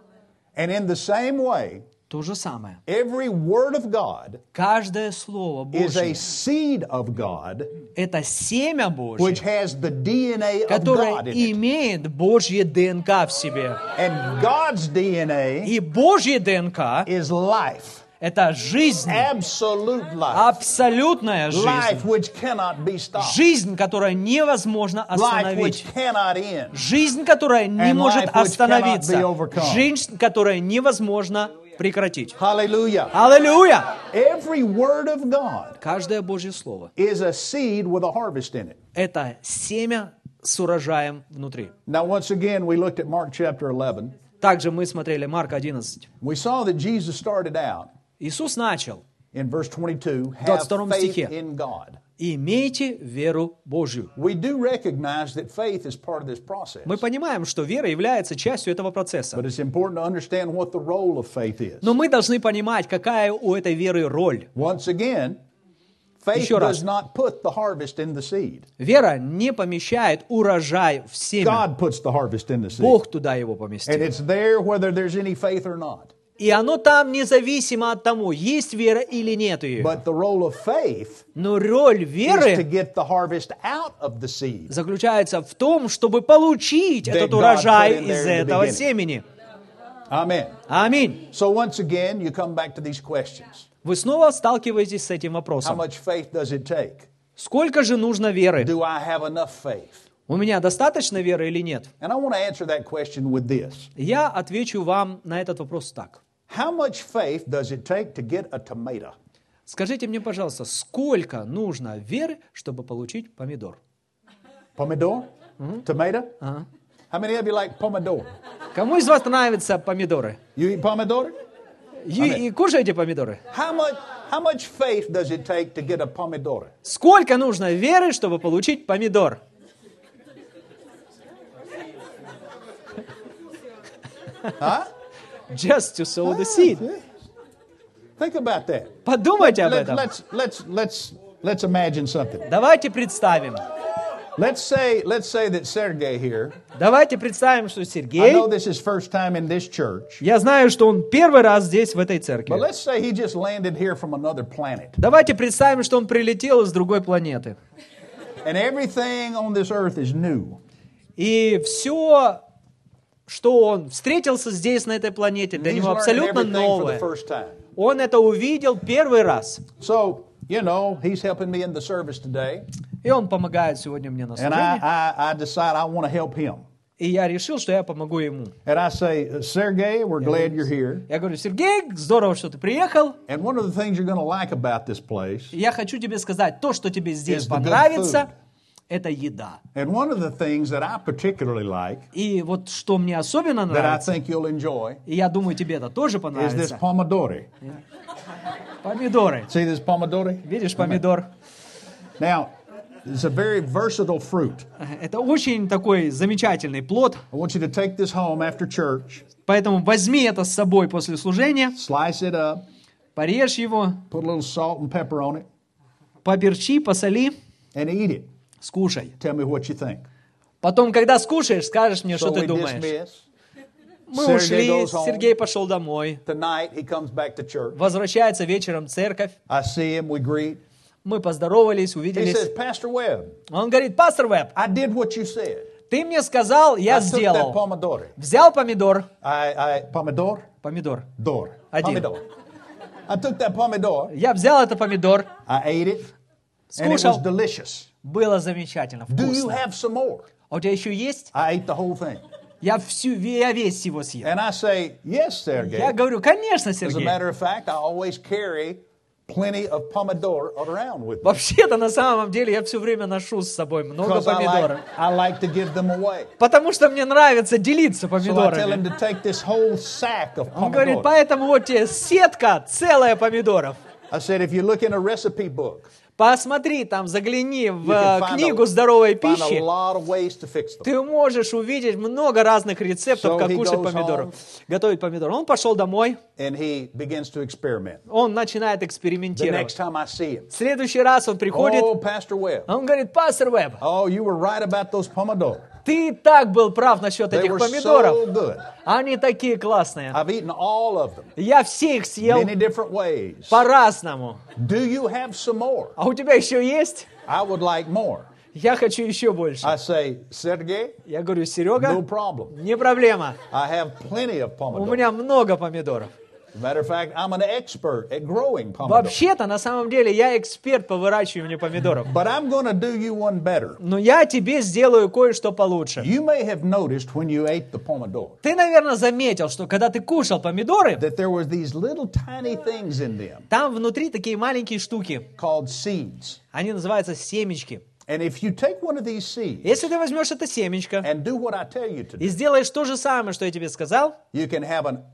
And in the same way, То же самое. every word of God Каждое слово is a Божье seed of God – это семя which Божье, has the DNA of которое God in it. имеет Божье ДНК в себе. And God's DNA И Божье ДНК is life, – это жизнь, absolute life, абсолютная life жизнь. which cannot be stopped, Жизнь, которую невозможно life which остановить. cannot end. Жизнь, которая не And может life which остановиться. cannot be overcome. Жизнь, которая невозможно прекратить. Hallelujah. Аллилуйя! Every word of God Каждое Божье слово is a seed with a harvest in it. – это семя с урожаем внутри. Now, once again, we looked at Mark chapter 11. Также мы смотрели Марка 11. We saw that Jesus started out Иисус начал: in verse 22, have 22 faith стихе. in God. «Имейте веру Божью». We do recognize that faith is part of this process. Мы понимаем, что вера является частью этого процесса. But it's important to understand what the role of faith is. Но мы должны понимать, какая у этой веры роль. Once again, faith Еще раз. does not put the harvest in the seed. Вера не помещает урожай в семя. God puts the harvest in the seed. Бог туда его And поместил. it's there whether there's any faith or not. И оно там независимо от того, есть вера или нет ее. But the role of faith Но роль is to веры get the harvest out of the seed. заключается в том, чтобы получить That этот God урожай put in there из in the этого beginning. семени. Amen. Аминь. So once again, you come back to these questions. Вы снова сталкиваетесь с этим How вопросом. much faith does it take? Сколько же нужно веры? Do I have enough faith? У меня достаточно веры или нет? And I want to answer that question with this. Я отвечу вам на этот вопрос так. How much faith does it take to get a tomato? Скажите мне, пожалуйста, сколько нужно веры, чтобы получить помидор? Pomodoro? Tomato? How many of you like pomodoro? Кому из вас нравятся помидоры? You eat pomodoro? И кушаете помидоры? How much faith does it take to get a pomodoro? Сколько нужно веры, чтобы получить помидор? Huh? Just to sow the seed. Think about that. Подумайте об этом. Let's imagine something. Давайте представим. Let's say that Sergey here. Давайте представим, что I Сергей, know this is first time in this church, я знаю, что он первый раз здесь, в этой церкви. but let's say he just landed here from another planet, Давайте представим, что он прилетел из другой планеты. and everything on this earth is new. И все, что он встретился здесь, на этой планете, для He's него learning абсолютно everything for the новое. first time. Он это увидел первый раз. So, he's helping me in the service today, И он помогает сегодня мне на and служении. I decide I want to help him. И я решил, что я помогу ему. And I say, Sergey, we're glad you're here. Я говорю: Сергей, здорово, что ты приехал. And one of the things you're going to like about this place, Я хочу тебе сказать, то, что тебе здесь Is the good понравится, это еда. and one of the things that I particularly like, И вот что мне особенно that I нравится, think you'll enjoy, и я думаю, тебе это тоже is this понравится, pomodoro. помидоры. See this pomodoro? Видишь, помидор? Now, it's a very versatile fruit. Это очень такой замечательный плод, I want you to take this home after church, поэтому возьми это с собой после служения, slice it up, порежь его, put a little salt and pepper on it, поперчи, посоли, and eat it. скушай. Tell me what you think. Потом, когда скушаешь, скажешь мне, что So ты we думаешь. dismiss. Мы Sergey ушли, goes home. Сергей пошел домой, Tonight, he comes back to church. возвращается вечером в церковь, I see him, we greet. мы поздоровались, He увиделись. says, Pastor Webb, Он говорит: пастор Веб, I did what you said. ты мне сказал, я I took that сделал. pomodoro. Взял помидор, Pomodoro? помидор. Door. Один. Pomodoro. I took that pomodoro, Я взял этот помидор, I ate it, and it was скушал. delicious. Было замечательно, Do you вкусно. have some more? А у тебя еще есть? I ate the whole thing. Я весь его съел. And I say, yes, Sergey. Я говорю, конечно, As a Сергей. matter of fact, I always carry plenty of pomodoro around with me. Вообще-то, на самом деле, я все время ношу с собой много Because помидоров. I like to give them away. Потому что мне нравится делиться So I tell him помидорами. to take this whole sack of Он говорит, pomodoro. поэтому вот тебе сетка целая помидоров. I said, if you look in a recipe book, Посмотри, там, загляни you в can find книгу здоровой a пищи. lot of ways to fix them. Ты можешь увидеть много разных рецептов, So как he кушать goes помидоров, home. готовить помидоры. Он пошел домой, And he begins to experiment. он начинает The экспериментировать. next time I see him, В следующий раз он приходит, oh, Pastor Webb, он говорит, пастор Веб, oh, you were right about those pomodoro. ты так был прав насчет They этих were помидоров. so good. Они такие классные. I've eaten all of them, Я все их съел many different ways. по-разному. Do you have some more? А у тебя еще есть? I would like more. Я хочу еще больше. I say, Sergey, Я говорю, no Серега, problem. не проблема. I have plenty of У pomodoro. меня много помидоров. As a matter of fact, I'm an expert at growing pomodoro. Вообще-то, на самом деле, я эксперт по выращиванию помидоров. But I'm going to do you one better. Но я тебе сделаю кое-что получше. You may have noticed when you ate the pomodoro Ты, наверное, заметил, что когда ты кушал помидоры, that there were these little tiny things in them там внутри такие маленькие штуки. called seeds. Они называются семечки. And if you take one of these seeds Если ты возьмешь это семечко and do what I tell you to и do, сделаешь то же самое, что я тебе сказал, you can have an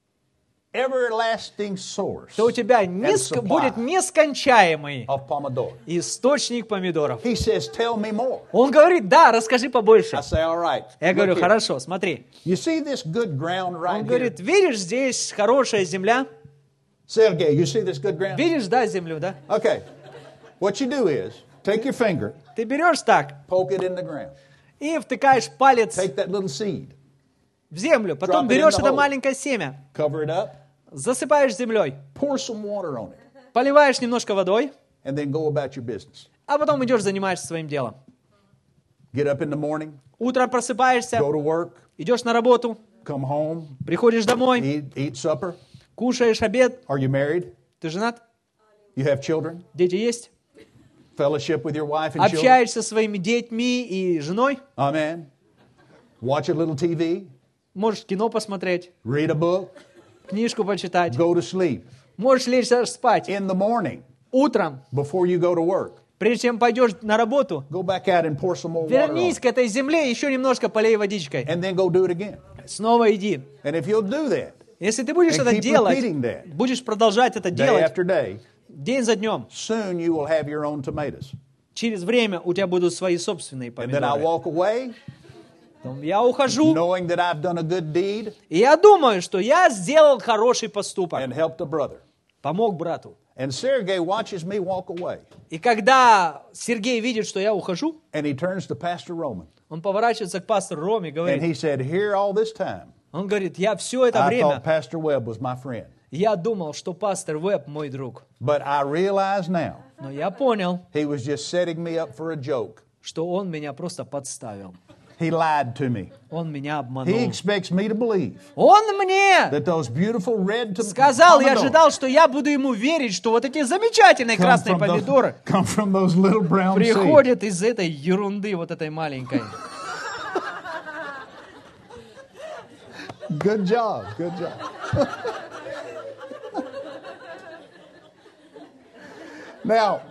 everlasting source то у тебя and будет supply нескончаемый of pomodoro. источник помидоров. He says, tell me more. Он говорит, да, расскажи побольше. I say, all right. Я говорю, look here. хорошо, смотри. You see this good ground right Он here? говорит, видишь, здесь хорошая земля. Sergey, you see this good ground? Видишь, да, землю, да? Okay. What you do is take your finger, Ты берешь так poke it in the ground. и втыкаешь палец Take that little seed, в землю. Потом Drop it in берешь the это hole. маленькое семя, cover it up, засыпаешь землей, pour some water on it, поливаешь немножко водой, and then go about your business. а потом идешь, занимаешься своим делом. Get up in the morning, Утром просыпаешься, go to work, идешь на работу, come home, приходишь домой, eat supper. кушаешь обед. Are you married? Ты женат? You have children? Дети есть? Fellowship with your wife and children? Общаешься со своими детьми и женой? Amen. Watch a little TV, Можешь кино посмотреть, read a book, книжку почитать. go to sleep. Можешь лечь спать. In the morning, Утром, before you go to work, прежде чем пойдешь на работу, go back out and pour some more water on вернись it. к этой земле, еще немножко полей водичкой. And then go do it again. Снова иди. And if you'll do that, Если ты будешь And это keep делать, repeating that. будешь продолжать это day делать after day, день за днем, soon you will have your own tomatoes. через время у тебя будут свои собственные And then I помидоры. walk away Потом я ухожу, knowing that I've done a good deed и я думаю, что я сделал хороший поступок. and helped a brother. Помог брату. And Sergey watches me walk away. И когда Сергей видит, что я ухожу, And he turns to Pastor Roman. он поворачивается к пастору Роме и And говорит, he said, here all this time, он говорит, я все это I время, thought Pastor Webb was my friend. я думал, что пастор Веб мой друг. But I realize now Но я понял, he was just setting me up for a joke. что он меня просто подставил. He lied to me. Он меня He обманул. expects me to believe Он мне that those beautiful red сказал, я tomatoes ожидал, что я буду ему верить, что вот эти замечательные красные помидоры come from those little brown seeds. приходят из этой ерунды, вот этой маленькой. Good job. Good job. Now,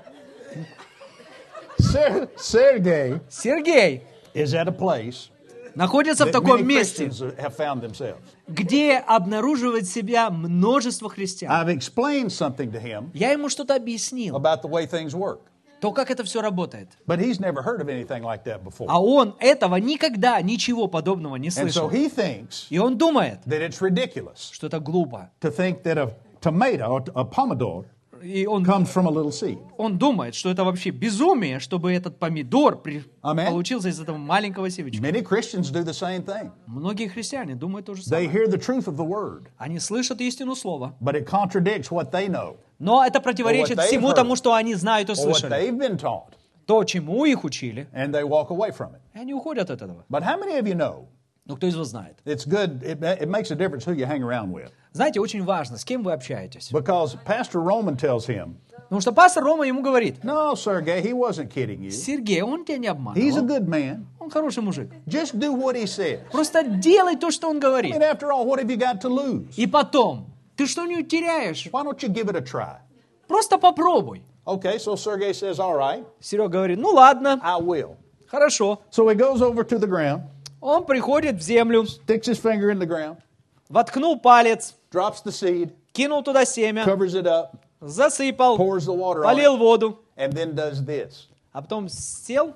Sergey Сергей is at a place находится в that таком many месте, Christians have found themselves. где обнаруживает себя множество христиан. I've explained something to him Я ему что-то объяснил, about the way things work, то, как это все работает. but he's never heard of anything like that before. А он этого никогда, ничего подобного не And so слышал. he thinks И он думает, that it's ridiculous что это глупо. to think that a tomato, a pomodoro, И он comes from a little seed. думает, что это вообще безумие, чтобы этот помидор Amen. получился из этого маленького семечка. Many Christians do the same thing. Многие христиане думают то же They самое. hear the truth of the word, Они слышат истину слова, but it contradicts what they know но это противоречит Or what they've всему heard. тому, что они знают и or what слышали. they've been taught, То, чему их учили, and they walk away from it. и они уходят от этого. But how many of you know Но кто из вас знает? it's good, it makes a difference who you hang around with? Знаете, очень важно, с кем вы общаетесь. Because Pastor Roman tells him, Потому что пастор Рома ему говорит, no, Sergey, he wasn't kidding you. Сергей, он тебя не He's a обманывал. good man. Он Он хороший мужик. Just do what he says. Просто делай то, что он I говорит. mean, after all, what have you got to lose? И потом, ты что-нибудь теряешь? Why don't you give it a try? Просто попробуй. Okay, so Sergey says, all right, Серега говорит, ну ладно, I will. хорошо. So he goes over to the ground, Он приходит в землю, sticks his finger in the ground, воткнул палец, drops the seed, кинул туда семя, covers it up, засыпал, pours the water on полил it, воду, and then does this. а потом сел.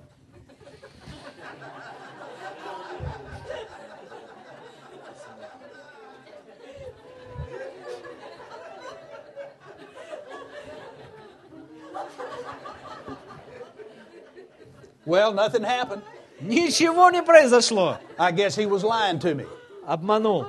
Well, nothing happened. Ничего не произошло. I guess he was lying to me. Обманул.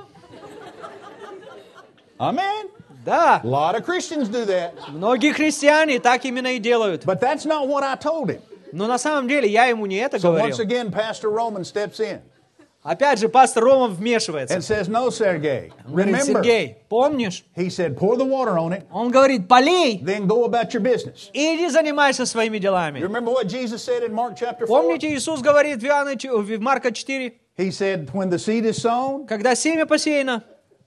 Amen. Да, A lot of Christians do that. многие христиане так именно и делают. But that's not what I told him. Но на самом деле я ему не это So once говорил. again, Pastor Roman steps in Опять же, пастор Рома вмешивается. and says, no, Sergey, Он говорит, remember, Сергей, помнишь? he said, pour the water on it, Он говорит, полей, then go about your business. иди занимайся своими You делами. remember what Jesus said in Mark chapter 4? Помните, Иисус говорит в Марка 4, He said, when the seed is sown, когда семя посеяно,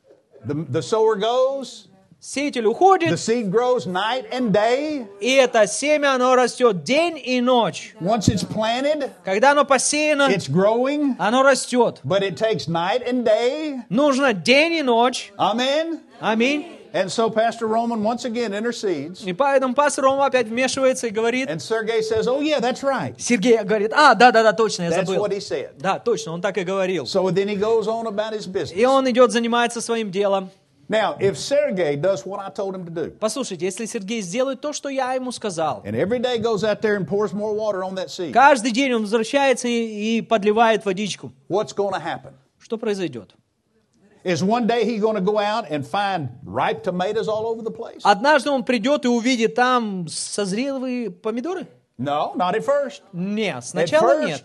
the sower goes, сеятель the уходит, seed grows night and day. и это семя, оно растет день и ночь. Once it's planted, Когда оно посеяно, it's growing, оно растет. but it takes night and day. Нужно день и ночь. Amen. Аминь. And so Pastor Roman once again intercedes. И поэтому пастор Рома опять вмешивается и говорит, And Sergey says, oh, yeah, that's right. Сергей говорит, да, точно, я That's забыл. what he said. Да, точно, он так и говорил. So then he goes on about his И business. он идет, занимается своим делом. Now, if Sergey does what I told him to do, Послушайте, если Сергей сделает то, что я ему сказал, and every day goes out there and pours more water on that seed, каждый день он возвращается и подливает водичку, what's going to happen? что произойдет? Is one day he going to go out and find ripe tomatoes all over the place? Однажды он придет и увидит там созрелые помидоры? No, not at first. Нет, сначала first- нет.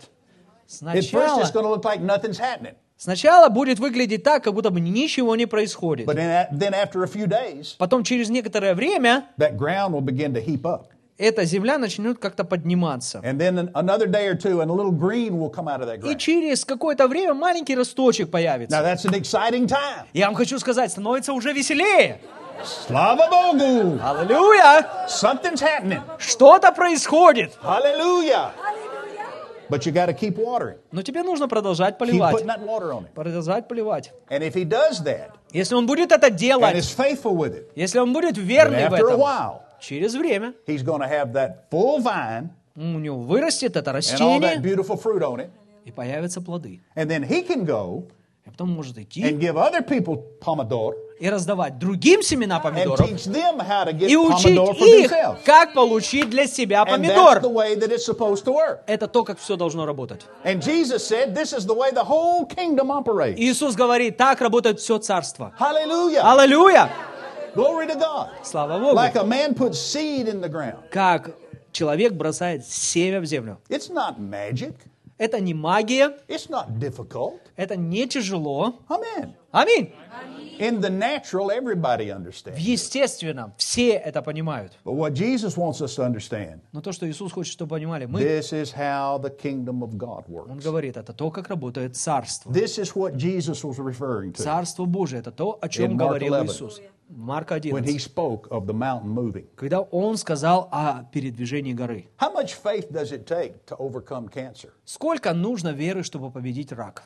At first, Сначала, it's going to look like nothing's happening. сначала будет выглядеть так, как будто бы ничего не происходит. But then after a few days, Потом через некоторое время that ground will begin to heap up. эта земля начнет как-то подниматься. And then another day or two, and a little green will come out of that И ground. через какое-то время маленький росточек Now, появится. that's an exciting time. Я вам хочу сказать, становится уже веселее. Slava Bogu! Аллилуйя! Something's happening. Что-то происходит. Hallelujah! But you got to keep watering. Но тебе нужно продолжать Keep поливать. putting that water on it. Продолжать поливать. And if he does that, Если он будет это and делать, is faithful with it, если он будет then верный в after a этом, while, через время he's going to have that full vine у него вырастет это and all that растение, beautiful fruit on it. и появятся плоды. And then he can go И потом может идти and give other people pomodoro и раздавать другим семена and помидоров, teach them how to get и учить pomodoro for их, themselves. как получить для себя And that's помидор. the way that it's supposed to work. Это то, как все должно работать. And Jesus said this is the way the whole kingdom operates. Иисус говорит, так работает все царство. Hallelujah. Аллилуйя! Glory to God. Слава Богу! Like a man puts seed in the ground. Как человек бросает семя в землю. It's not magic. Это не магия, It's not difficult. это не тяжело. Amen. Аминь. In the natural, everybody В understands. естественном все это понимают. But what Jesus wants us to understand, Но то, что Иисус хочет, чтобы понимали мы, this is how the kingdom of God Он works. говорит, это то, как работает царство. This is what Jesus was referring to Царство Божие, это то, о In чем Mark говорил 11. Иисус. Марка when he 11. spoke of the mountain moving. Когда Он сказал о передвижении горы. How much faith does it take to overcome cancer? Сколько нужно веры, чтобы победить рак?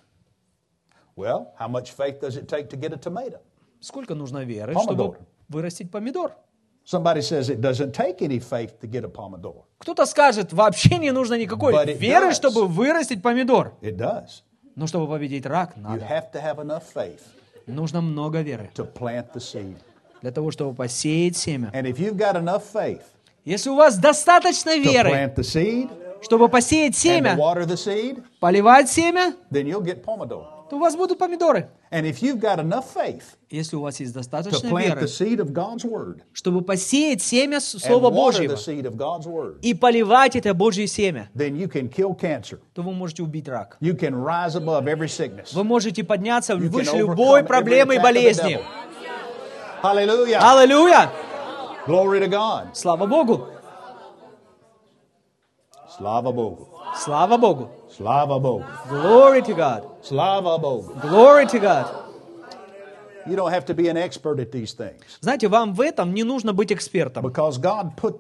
Well, how much faith does it take to get a tomato? Сколько нужно веры, Помидор. чтобы вырастить помидор? Somebody says it doesn't take any faith to get a pomodoro. Кто-то скажет, вообще не нужно никакой But it веры, does. чтобы вырастить помидор. It does. Но чтобы победить рак, You надо. have to have enough faith Нужно много веры to plant the seed. для того, чтобы посеять семя. And if you've got enough faith Если у вас достаточно to веры, plant the seed чтобы посеять and to семя, water the seed, поливать семя, then you'll get pomodoro. то у вас будут помидоры. And if you've got enough faith Если у вас есть to достаточно plant веры, the seed of God's word чтобы посеять семя and Слова water Божьего the seed of God's word, и поливать это Божье семя, then you can kill cancer. то вы можете убить рак. You can rise above every sickness. Вы можете подняться You can выше overcome любой every проблемы и attack of the болезни. devil. Hallelujah. Аллилуйя! Glory to God. Слава Богу! Slava Bogu. Слава Богу! Slava Bogu. Glory to God! Slava Bogu. Glory to God! You don't have to be an expert at these things. Знаете, вам в этом не нужно быть экспертом, Because God put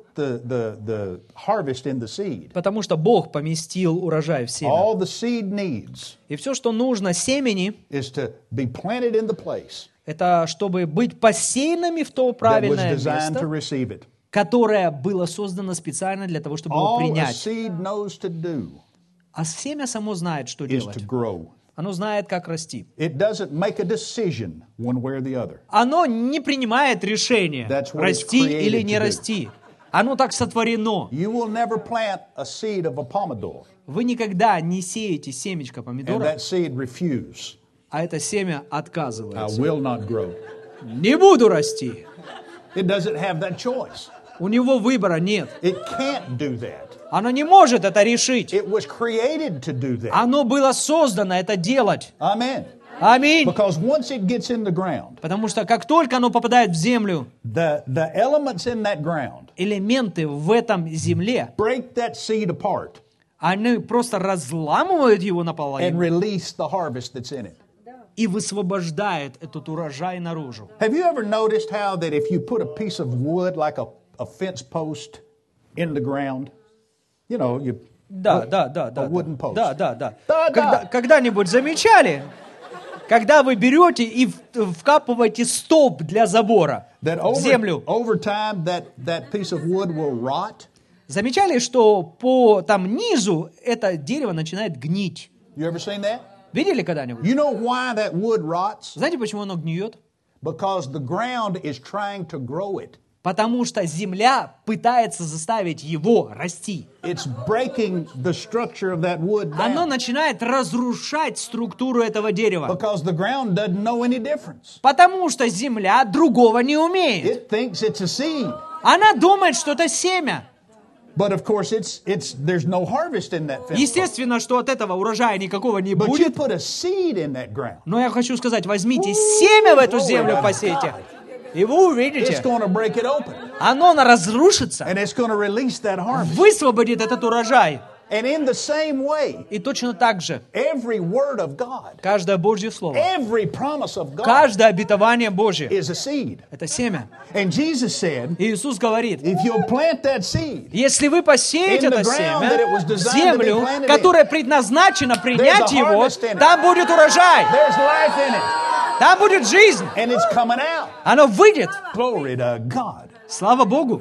the harvest in the seed. потому что Бог поместил урожай в семя. All the seed needs И все, что нужно семени, is to be planted in the place это чтобы быть посеянными в то that was правильное designed to место, receive it. которое было создано специально для того, чтобы его All a принять. seed knows to do А семя само знает, что is делать. to grow. Оно знает, как расти. It doesn't make a decision one way or the other. Оно не принимает решение, That's what it's расти created или не to do. расти. Оно так сотворено. You will never plant a seed of a pomodoro Вы никогда не сеете семечко and помидора, that seed refuse. а это семя I отказывается. will not grow. Не буду расти. It doesn't have that choice. У него выбора нет. It can't do that. Оно не может это решить. It was created to do that. Оно было создано это делать. Amen. Аминь. Because once it gets in the ground, Потому что как только оно попадает в землю, the elements in that ground элементы в этом земле, break that seed apart они просто разламывают его and наполовину release the harvest that's in it. и высвобождает этот урожай наружу. Have you ever noticed how that if you put a piece of wood like a fence post in the ground, you know, you Да, put да, да, a да. wooden post. Да, да, да. Да. Когда-нибудь замечали, когда вы берете и вкапываете столб для забора That в землю, over time that piece of wood will rot. замечали, что по там низу это дерево начинает гнить? You ever seen that? Видели когда-нибудь? You know why that wood rots? Знаете, почему оно гниет? Because the ground is trying to grow it. Потому что земля пытается заставить его расти. It's breaking the structure of that wood Оно down. начинает разрушать структуру этого дерева. Because the ground doesn't know any difference. Потому что земля другого не умеет. It thinks it's a seed. Она думает, что это семя. But of course there's no harvest in that fence. Естественно, что от этого урожая никакого не But you будет. put a seed in that ground. Но я хочу сказать, возьмите семя в эту Glory землю, to посейте. God. И вы It's увидите, going to break it open. оно разрушится, And it's going to release that harvest. высвободит этот урожай. And in the same way, И точно так же, every word of God, каждое Божье Слово, every promise of God каждое обетование Божье is a seed. – это семя. And Jesus said, И Иисус говорит, if you'll plant that seed, если вы посеете In the это ground that it was семя в designed to be землю, planted in, которая предназначена принять there's a его, harvest in it. там будет урожай, there's life in it. там будет жизнь, And it's coming out. оно выйдет. Glory to God. Слава Богу!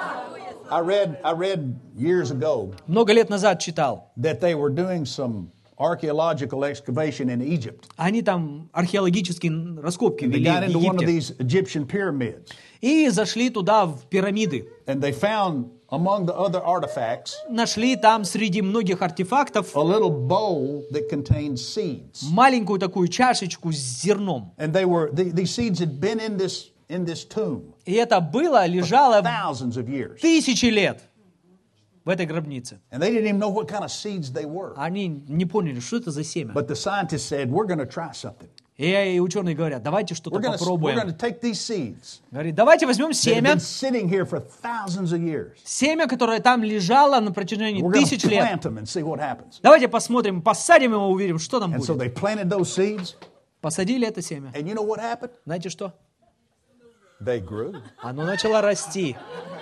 I read years ago Много лет назад читал. that they were doing some archaeological excavation in Egypt. Они там археологические раскопки They вели got в into one of Египте. these Egyptian pyramids. И зашли туда, в пирамиды. And they found among the other artifacts Нашли там среди многих артефактов a little bowl that contained seeds. маленькую такую чашечку с зерном. And these seeds had been in this tomb И это было, лежало thousands of years. тысячи лет в этой гробнице. And they didn't even know what kind of seeds they were. Они не поняли, что это за семя. But the scientists said, we're going to try something. И ученые говорят, давайте что-то We're going попробуем. to take these seeds Говорит, давайте возьмем that have семя, been sitting here for thousands of years. семя, которое там лежало на протяжении We're going тысяч to лет. plant them and see what happens. Давайте посмотрим, посадим его, увидим, что там And so будет. they planted those seeds. Посадили это семя. And you know what happened? Знаете что? They grew. Оно начало расти.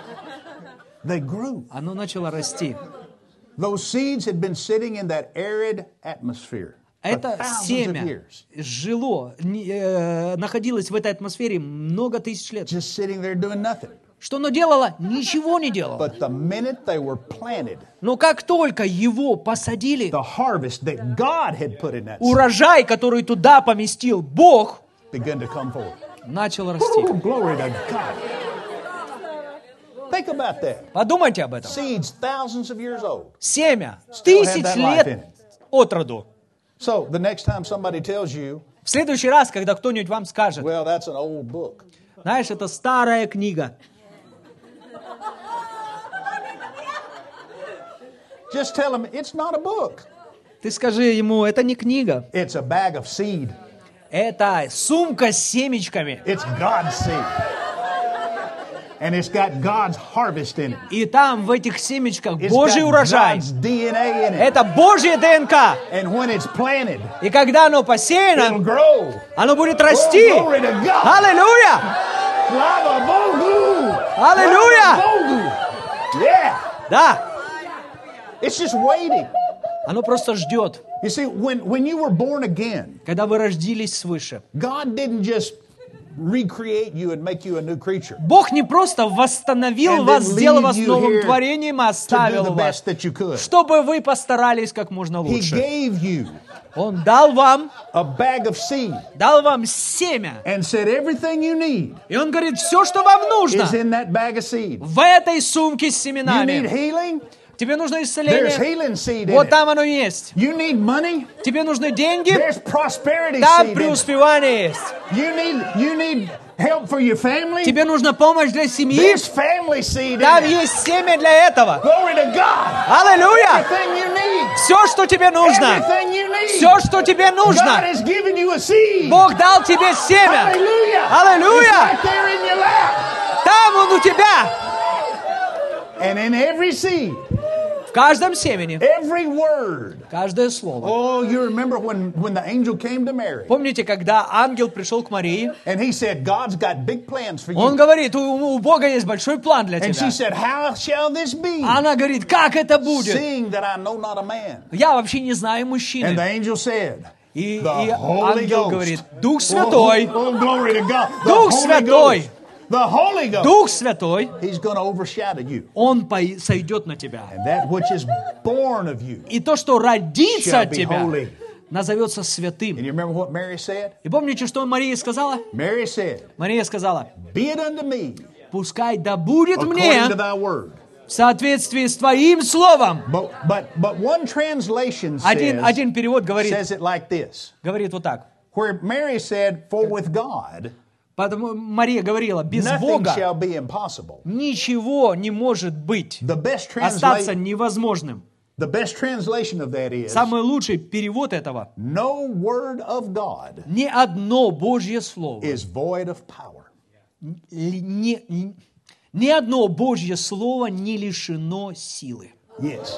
They grew. Оно начало расти. Those seeds had been sitting in that arid atmosphere for Это thousands of семя years. жило, находилось в этой атмосфере много тысяч лет. Just sitting there doing nothing. Что оно делало? Ничего не делало. But the minute they were planted, Но как только его посадили, the harvest that God had put in that seed урожай, который туда поместил Бог, began to come forth. начал расти. Ooh, glory to God. Think about that. Подумайте об этом. Seeds thousands of years old. Семя Still had тысяч that life in лет it. от роду. So the next time somebody tells you, В следующий раз, когда кто-нибудь вам скажет, well, that's an old book. знаешь, это старая книга, Just tell them it's not a book. ты скажи ему, это не книга, It's a bag of seed. это сумка с семечками. It's God's seed. And it's got God's harvest in it. И там, в этих семечках, It's Божий got урожай. God's DNA in it. Это Божье ДНК. And when it's planted, И когда оно it'll посеяно, grow. оно будет расти. Oh, glory to God. Аллилуйя! Lava Bogu. Аллилуйя! Lava Bogu. Yeah. Да, It's just waiting. оно просто ждет. You see, when you were born again, Когда вы родились свыше, God didn't just recreate you and make you a new creature Бог не просто восстановил And вас, then сделал leave вас you новым here творением, to do оставил the вас, best that you could. чтобы вы постарались как можно He лучше. gave you Он дал вам a bag of seed семя. and said everything you need И Он говорит, все, что вам нужно, is in that bag of seed. в этой сумке с You need семенами. healing? Тебе нужно There's исцеление. healing seed in Вот it. там оно есть. You need money? Тебе нужны деньги. There's prosperity Там seed in it. преуспевание есть. You need help for your family? Тебе нужна помощь для семьи. There's family seed Там in it. есть семя для этого. Glory to God. Аллилуйя! Everything you need. Все, что тебе нужно. Everything you need. Все, что тебе God нужно. has given you a seed. Бог дал тебе семя. Hallelujah. Hallelujah. It's right there in your lap. Там он у тебя. And in every seed, В каждом семени. every word. Каждое слово. Oh, you remember when the angel came to Mary Помните, когда ангел пришел к Марии, and he said, God's got big plans for он you. говорит, у Бога есть большой план для And she тебя. said, how shall this be? Она говорит, как это будет? Seeing that I know not a man. Я вообще не знаю And the мужчины. angel said, И the Holy ангел Ghost. говорит, Дух Святой, Oh, glory to God. The Дух Holy Святой. Ghost. The Holy Ghost. Дух Святой, He's going to overshadow you. Он сойдет на тебя. And that which is born of you. И то, что родится Shall от be тебя, holy. назовется святым. And you remember what Mary said? И помните, что Мария сказала? Mary said, Мария сказала, be it unto me пускай да будет according мне to thy word. в соответствии с твоим словом. But one translation Один перевод says it like this. говорит вот так. Where Mary said, for with God, Поэтому Мария говорила, без nothing Бога shall be impossible. ничего не может быть, The best остаться невозможным. translation of that is, Самый лучший перевод этого. no word of God Ни одно Божье слово, is void of power. ни одно Божье слово не лишено силы. Yes.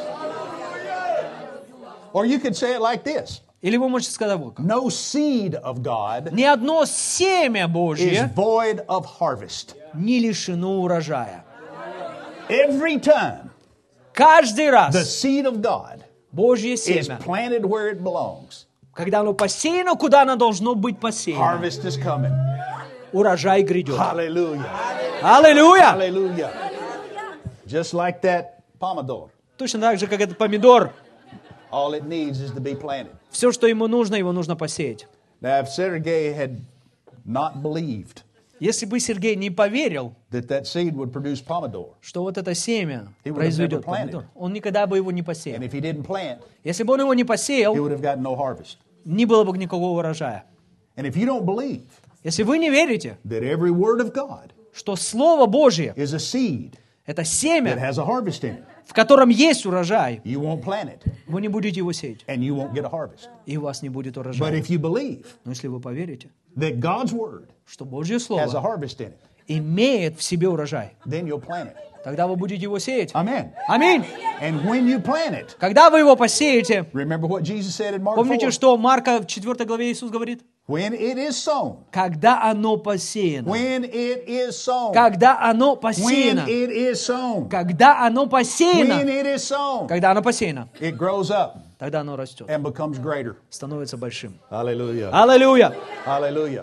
Or you could say it like this. Или вы можете сказать вот как. No seed of God Ни одно семя is Божье void of harvest. не лишено урожая. Every time Каждый the раз seed of God Божье is семя, planted where it belongs, когда оно посеяно, куда оно должно быть посеяно, harvest is coming. урожай грядет. Hallelujah. Аллилуйя! Hallelujah. Just like that pomodoro. Точно так же, как этот помидор. All it needs is to be planted. Все, что ему нужно посеять. Now, if Sergei had not believed Если бы Сергей не поверил, that seed would produce pomodoro, что вот это семя He would have произведет never planted. помидор, он никогда бы его не and посеял. if he didn't plant, Если бы он его не he посеял, would have gotten no harvest. не было бы никакого урожая. And if you don't believe Если вы не верите, that every word of God что Слово Божье is a seed – это that семя, has a harvest in it, в котором есть урожай, you won't plant it вы не будете его сеять, and you won't get a harvest. и у вас не будет But урожая. if you believe Но если вы поверите, that God's word что Божье has a Слово harvest in it, имеет в себе урожай, then you'll plant it. тогда вы будете его сеять. Amen. Аминь. And when you plant it, Когда вы его посеете, remember what Jesus said in Mark помните, 4? что Марка в 4 главе Иисус говорит? When it is sown, Когда оно посеяно. when it is sown, Когда оно when посеяно. it is sown, Когда оно when посеяно. it is sown, Когда оно посеяно. it grows up Тогда оно растет. and becomes greater. Становится большим. Hallelujah. Аллилуйя. Hallelujah.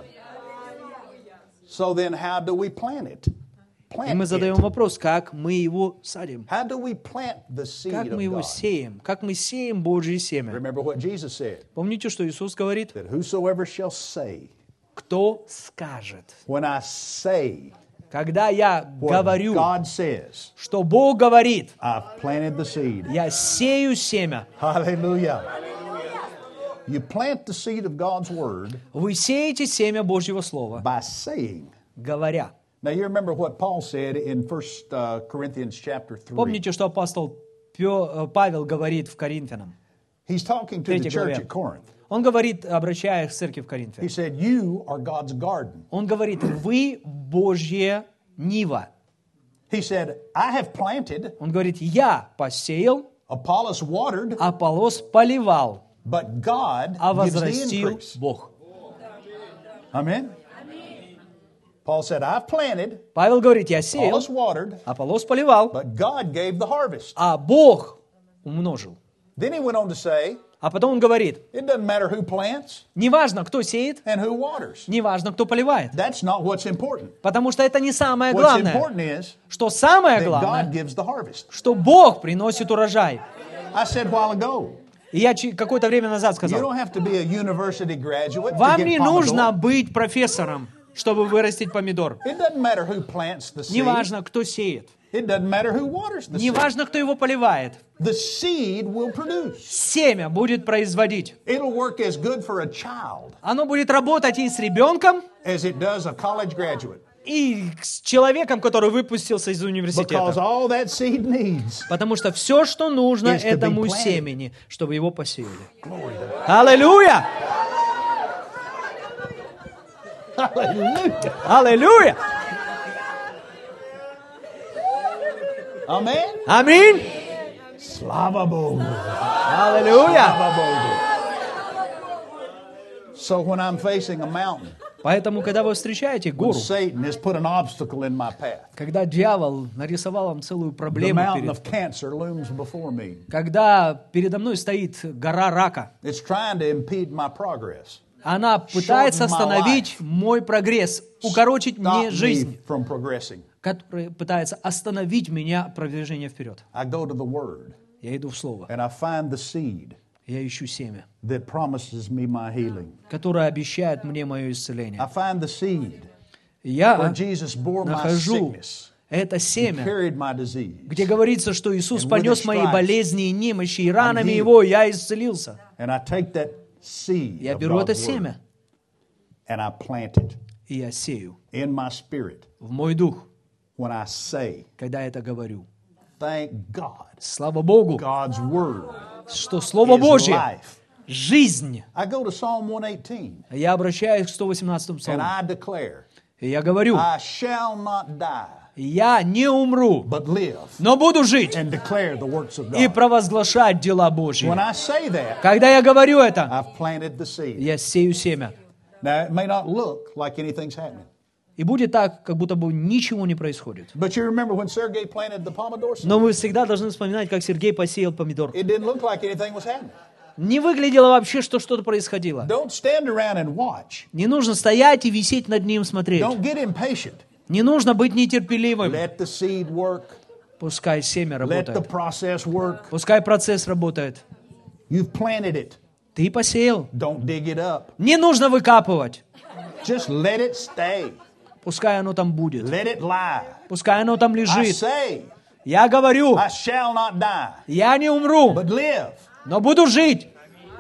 So then how do we plant it? И Plant мы задаем it. вопрос, как мы его садим? How do we plant the Как seed мы of его God? сеем? Как мы сеем Божье семя? Remember what Jesus said, Помните, что Иисус говорит? that whosoever shall say, Кто скажет? when I say Когда я what говорю, God says, что Бог говорит, I've planted the seed. я сею семя. Hallelujah. You plant the seed of God's word Вы сеете семя Божьего Слова, by saying. говоря. Now you remember what Paul said in 1 Corinthians chapter 3. Помните, что апостол Павел говорит в Коринфянам? He's talking to the 3 church главе. at Corinth. Он говорит, обращаясь к церкви в He Коринфе. said, you are God's garden. Он говорит, вы Божья нива. He said, I have planted, Он говорит, я посеял, Apollos watered, Аполлос поливал, but God а gives the возрастил increase. Бог. Amen? Paul said, I've planted, Павел говорит, я сеял, Apollos watered, Аполлос поливал, but God gave the harvest. а Бог умножил. Then he went on to say, А потом он говорит, it doesn't matter who plants неважно, кто сеет, and who waters. неважно, кто поливает. That's not what's important. Потому что это не самое What's главное. important is Что самое that God главное, gives the harvest. что Бог приносит урожай. I said a while ago, И я какое-то время назад you сказал, don't have to be a university graduate to вам get не pomodoro. нужно быть профессором, чтобы вырастить помидор. It doesn't matter who plants the seed. Неважно, кто сеет. It doesn't matter who waters the seed. Неважно, кто его поливает. The seed will produce. Семя будет производить. It'll work as good for a child Оно будет работать и с ребенком, as it does a college graduate. и с человеком, который выпустился из Because университета. all that seed needs. Потому что все, что нужно Is to be этому planted. семени, чтобы его посеяли. Glory to Аллилуйя! Hallelujah. Аллилуйя! Amen. Аминь! Slava Bogu. Аллилуйя! Slava Bogu. So when I'm facing a mountain, Поэтому, когда вы встречаете when гору, Satan has put an obstacle in my path, когда дьявол нарисовал вам целую the проблему, mountain of cancer looms before me. когда передо мной стоит гора рака, It's trying to impede my progress. она пытается Shorten my остановить мой прогресс, укорочить мне Stop me жизнь, from progressing. которая пытается остановить меня продвижение вперед. I go to the Word Я иду в Слово, and I find the seed я ищу семя, that promises me my healing. которое обещает мне мое I исцеление. find the seed where Я Jesus bore my нахожу sickness, это семя, carried my disease, где говорится, что Иисус And with понес His мои stripes болезни и немощи, и ранами healed. Его я исцелился. and I take that seed Я of беру это God's Word семя, and I plant it и я сею in my spirit в мой дух, when I say, когда это говорю. thank God, Слава Богу, God's Word что Слово is Божье life. – жизнь. I go to Psalm 118 Я обращаюсь к 118 and псалму, I declare, и я говорю, I shall not die, я не умру, but live но буду жить and declare the works of и God. провозглашать дела Божьи. When I say that, Когда я говорю это, I've planted the seed. я сею семя. Now, it may not look like anything's happening. И будет так, как будто бы ничего не происходит. But you remember when Sergei planted the pomodoro seed? Но вы всегда должны вспоминать, как Сергей посеял помидор. It didn't look like anything was happening. Не выглядело вообще, что что-то происходило. Don't stand around and watch. Не нужно стоять и висеть над ним, смотреть. Don't get impatient. Не нужно быть нетерпеливым. Let the seed work. Пускай семя Let the работает. process work. Пускай процесс работает. You've planted it. Ты посеял. Don't dig it up. Не нужно выкапывать. Just let it stay. Пускай оно там будет. Let it lie. Пускай оно там I лежит. say, Я говорю, I shall not die, я не умру, but live. но буду жить.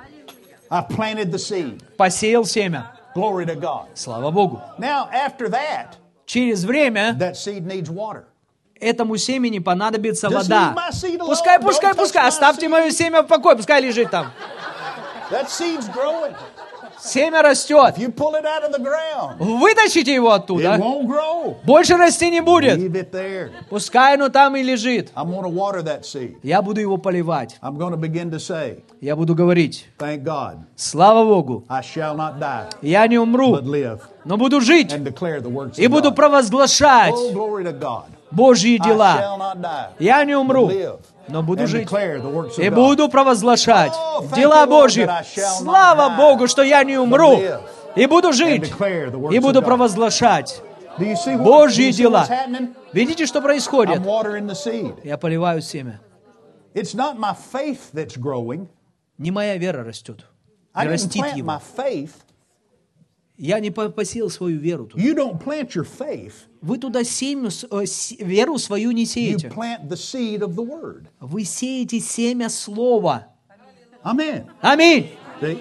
I've planted the seed. Посеял семя. Glory to God. Слава Богу. Now, after that, Через время that seed needs water. этому семени понадобится Just вода. leave my seed alone. Пускай, Don't touch пускай. my Оставьте seed. мое семя в покое. Пускай лежит там. That seed's growing. Семя растет. If you pull it out of the ground, Вытащите его it оттуда. won't grow. Больше расти не будет. Leave it there. Пускай оно там и лежит. I'm going to water that seed. Я буду его поливать. I'm going to begin to say, Я буду говорить, thank God, слава Богу, I shall not die, я не умру, but live но буду жить and declare the works и of буду God. провозглашать Oh, glory to God. Божьи I дела. shall not die, Я не but умру, live но буду and жить declare the works и of God. буду провозглашать Oh, thank дела you, Lord, Божьи. that I shall not Слава die, Богу, что я не умру but live и буду and жить declare the works и буду of God. провозглашать Do you see Божьи what's дела. happening? Видите, что I'm происходит? watering the seed. Я поливаю семя. It's not my faith that's growing. Не моя вера растет, I не didn't растит plant my его. faith. Я не посеял свою веру туда. You don't plant your faith. Вы туда веру свою не You сеете. plant the seed of the word. Вы сеете семя слова. Amen. Аминь. See?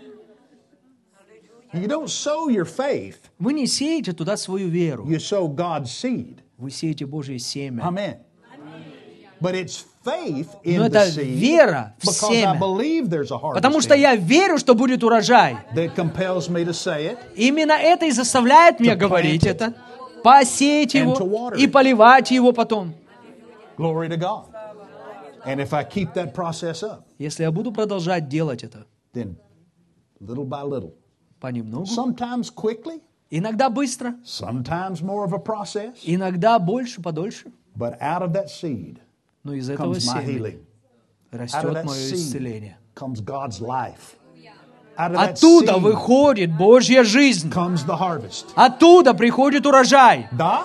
You don't sow your faith. Вы не сеете туда свою веру. You sow God's seed. Вы сеете Божье семя. Amen. But it's faith in Но the это seed вера в because I семя. believe there's a harvest Потому что in it я верю, что будет урожай. that compels me to say it. Именно это и заставляет меня To plant говорить it. это, посеять And его to water и it. поливать его потом. Glory to God. And if I keep that process up, Если я буду продолжать делать это then little by little, понемногу, sometimes quickly, иногда быстро, sometimes more of a process, иногда больше, подольше, but out of that seed но из этого comes my семени healing. Out of растет that мое seed исцеление. comes God's life. Out of that Оттуда seed выходит Божья жизнь. comes the harvest. Оттуда приходит урожай. Да?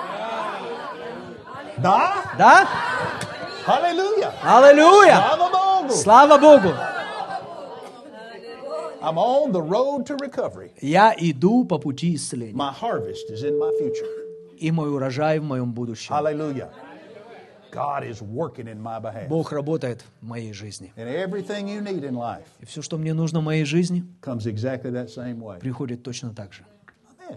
Да? Да? Hallelujah. Аллилуйя! Slava Bogu. Слава Богу! I'm on the road to recovery. Я иду по пути исцеления. My harvest is in my future. И мой урожай в моем будущем. Hallelujah. God is working in my behalf. Бог работает в моей жизни. And everything you need in life И все, что мне нужно в моей жизни, comes exactly that same way. приходит точно так же. Amen.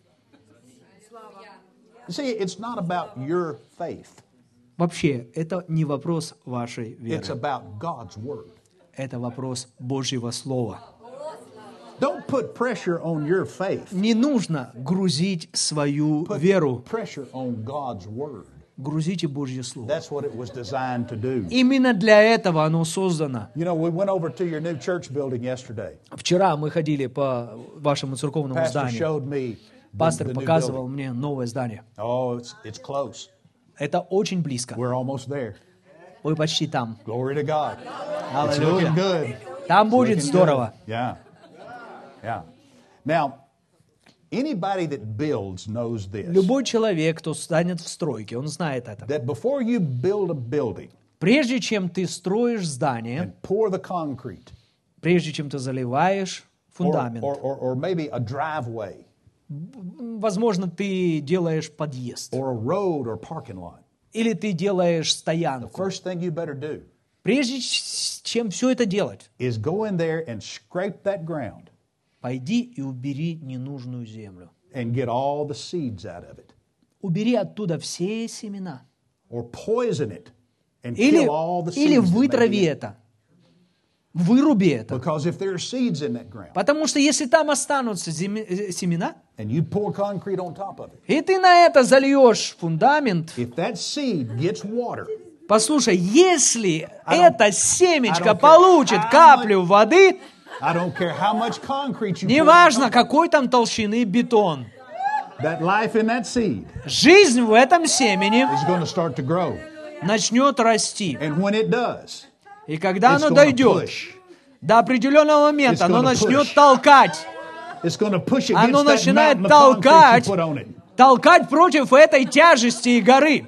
You see, it's not about your faith. Вообще, это не вопрос вашей веры. It's about God's word. Это вопрос Божьего Слова. Don't put pressure on your faith. Не нужно грузить свою Put веру. pressure on God's word. Грузите Божье Слово. That's what it was designed to do. Именно для этого оно создано. You know, we went over to your new church building yesterday. Вчера мы ходили по вашему церковному Pastor зданию. showed me Пастор the new показывал building. мне новое здание. Oh, it's close. Это очень близко. We're almost there. Вы почти там. Glory to God. It's looking Аллилуйя. good. Там будет Looking здорово. good. Yeah. Yeah. Now, anybody that builds knows this. Любой человек, кто станет в стройке, он знает это. That before you build a building Прежде чем ты строишь здание, and pour the concrete, прежде чем ты заливаешь фундамент, or maybe a driveway, возможно, ты делаешь подъезд, or a road or parking lot, или ты делаешь the стоянку. first thing you better do Прежде чем все это делать, is go in there and scrape that ground пойди и убери ненужную землю. and get all the seeds out of it, Убери оттуда все семена. or poison it and Или kill all the seeds. или that may вытрави be in it. это. Выруби это. Because if there are seeds in that ground Потому что если там останутся семена, and you pour concrete on top of it, и ты на это зальешь фундамент, if that seed gets water, послушай, если это семечко I don't care получит how каплю воды, I don't care how much concrete you pour on неважно, top, какой там толщины бетон, that life in that seed жизнь в этом семени is going to start to grow. начнет расти. And when it does, И когда it's оно going to дойдет push. до определенного момента, It's оно gonna начнет push. толкать. It's going to push Оно against that начинает mountain of concrete you толкать, put on it. толкать против этой тяжести и горы.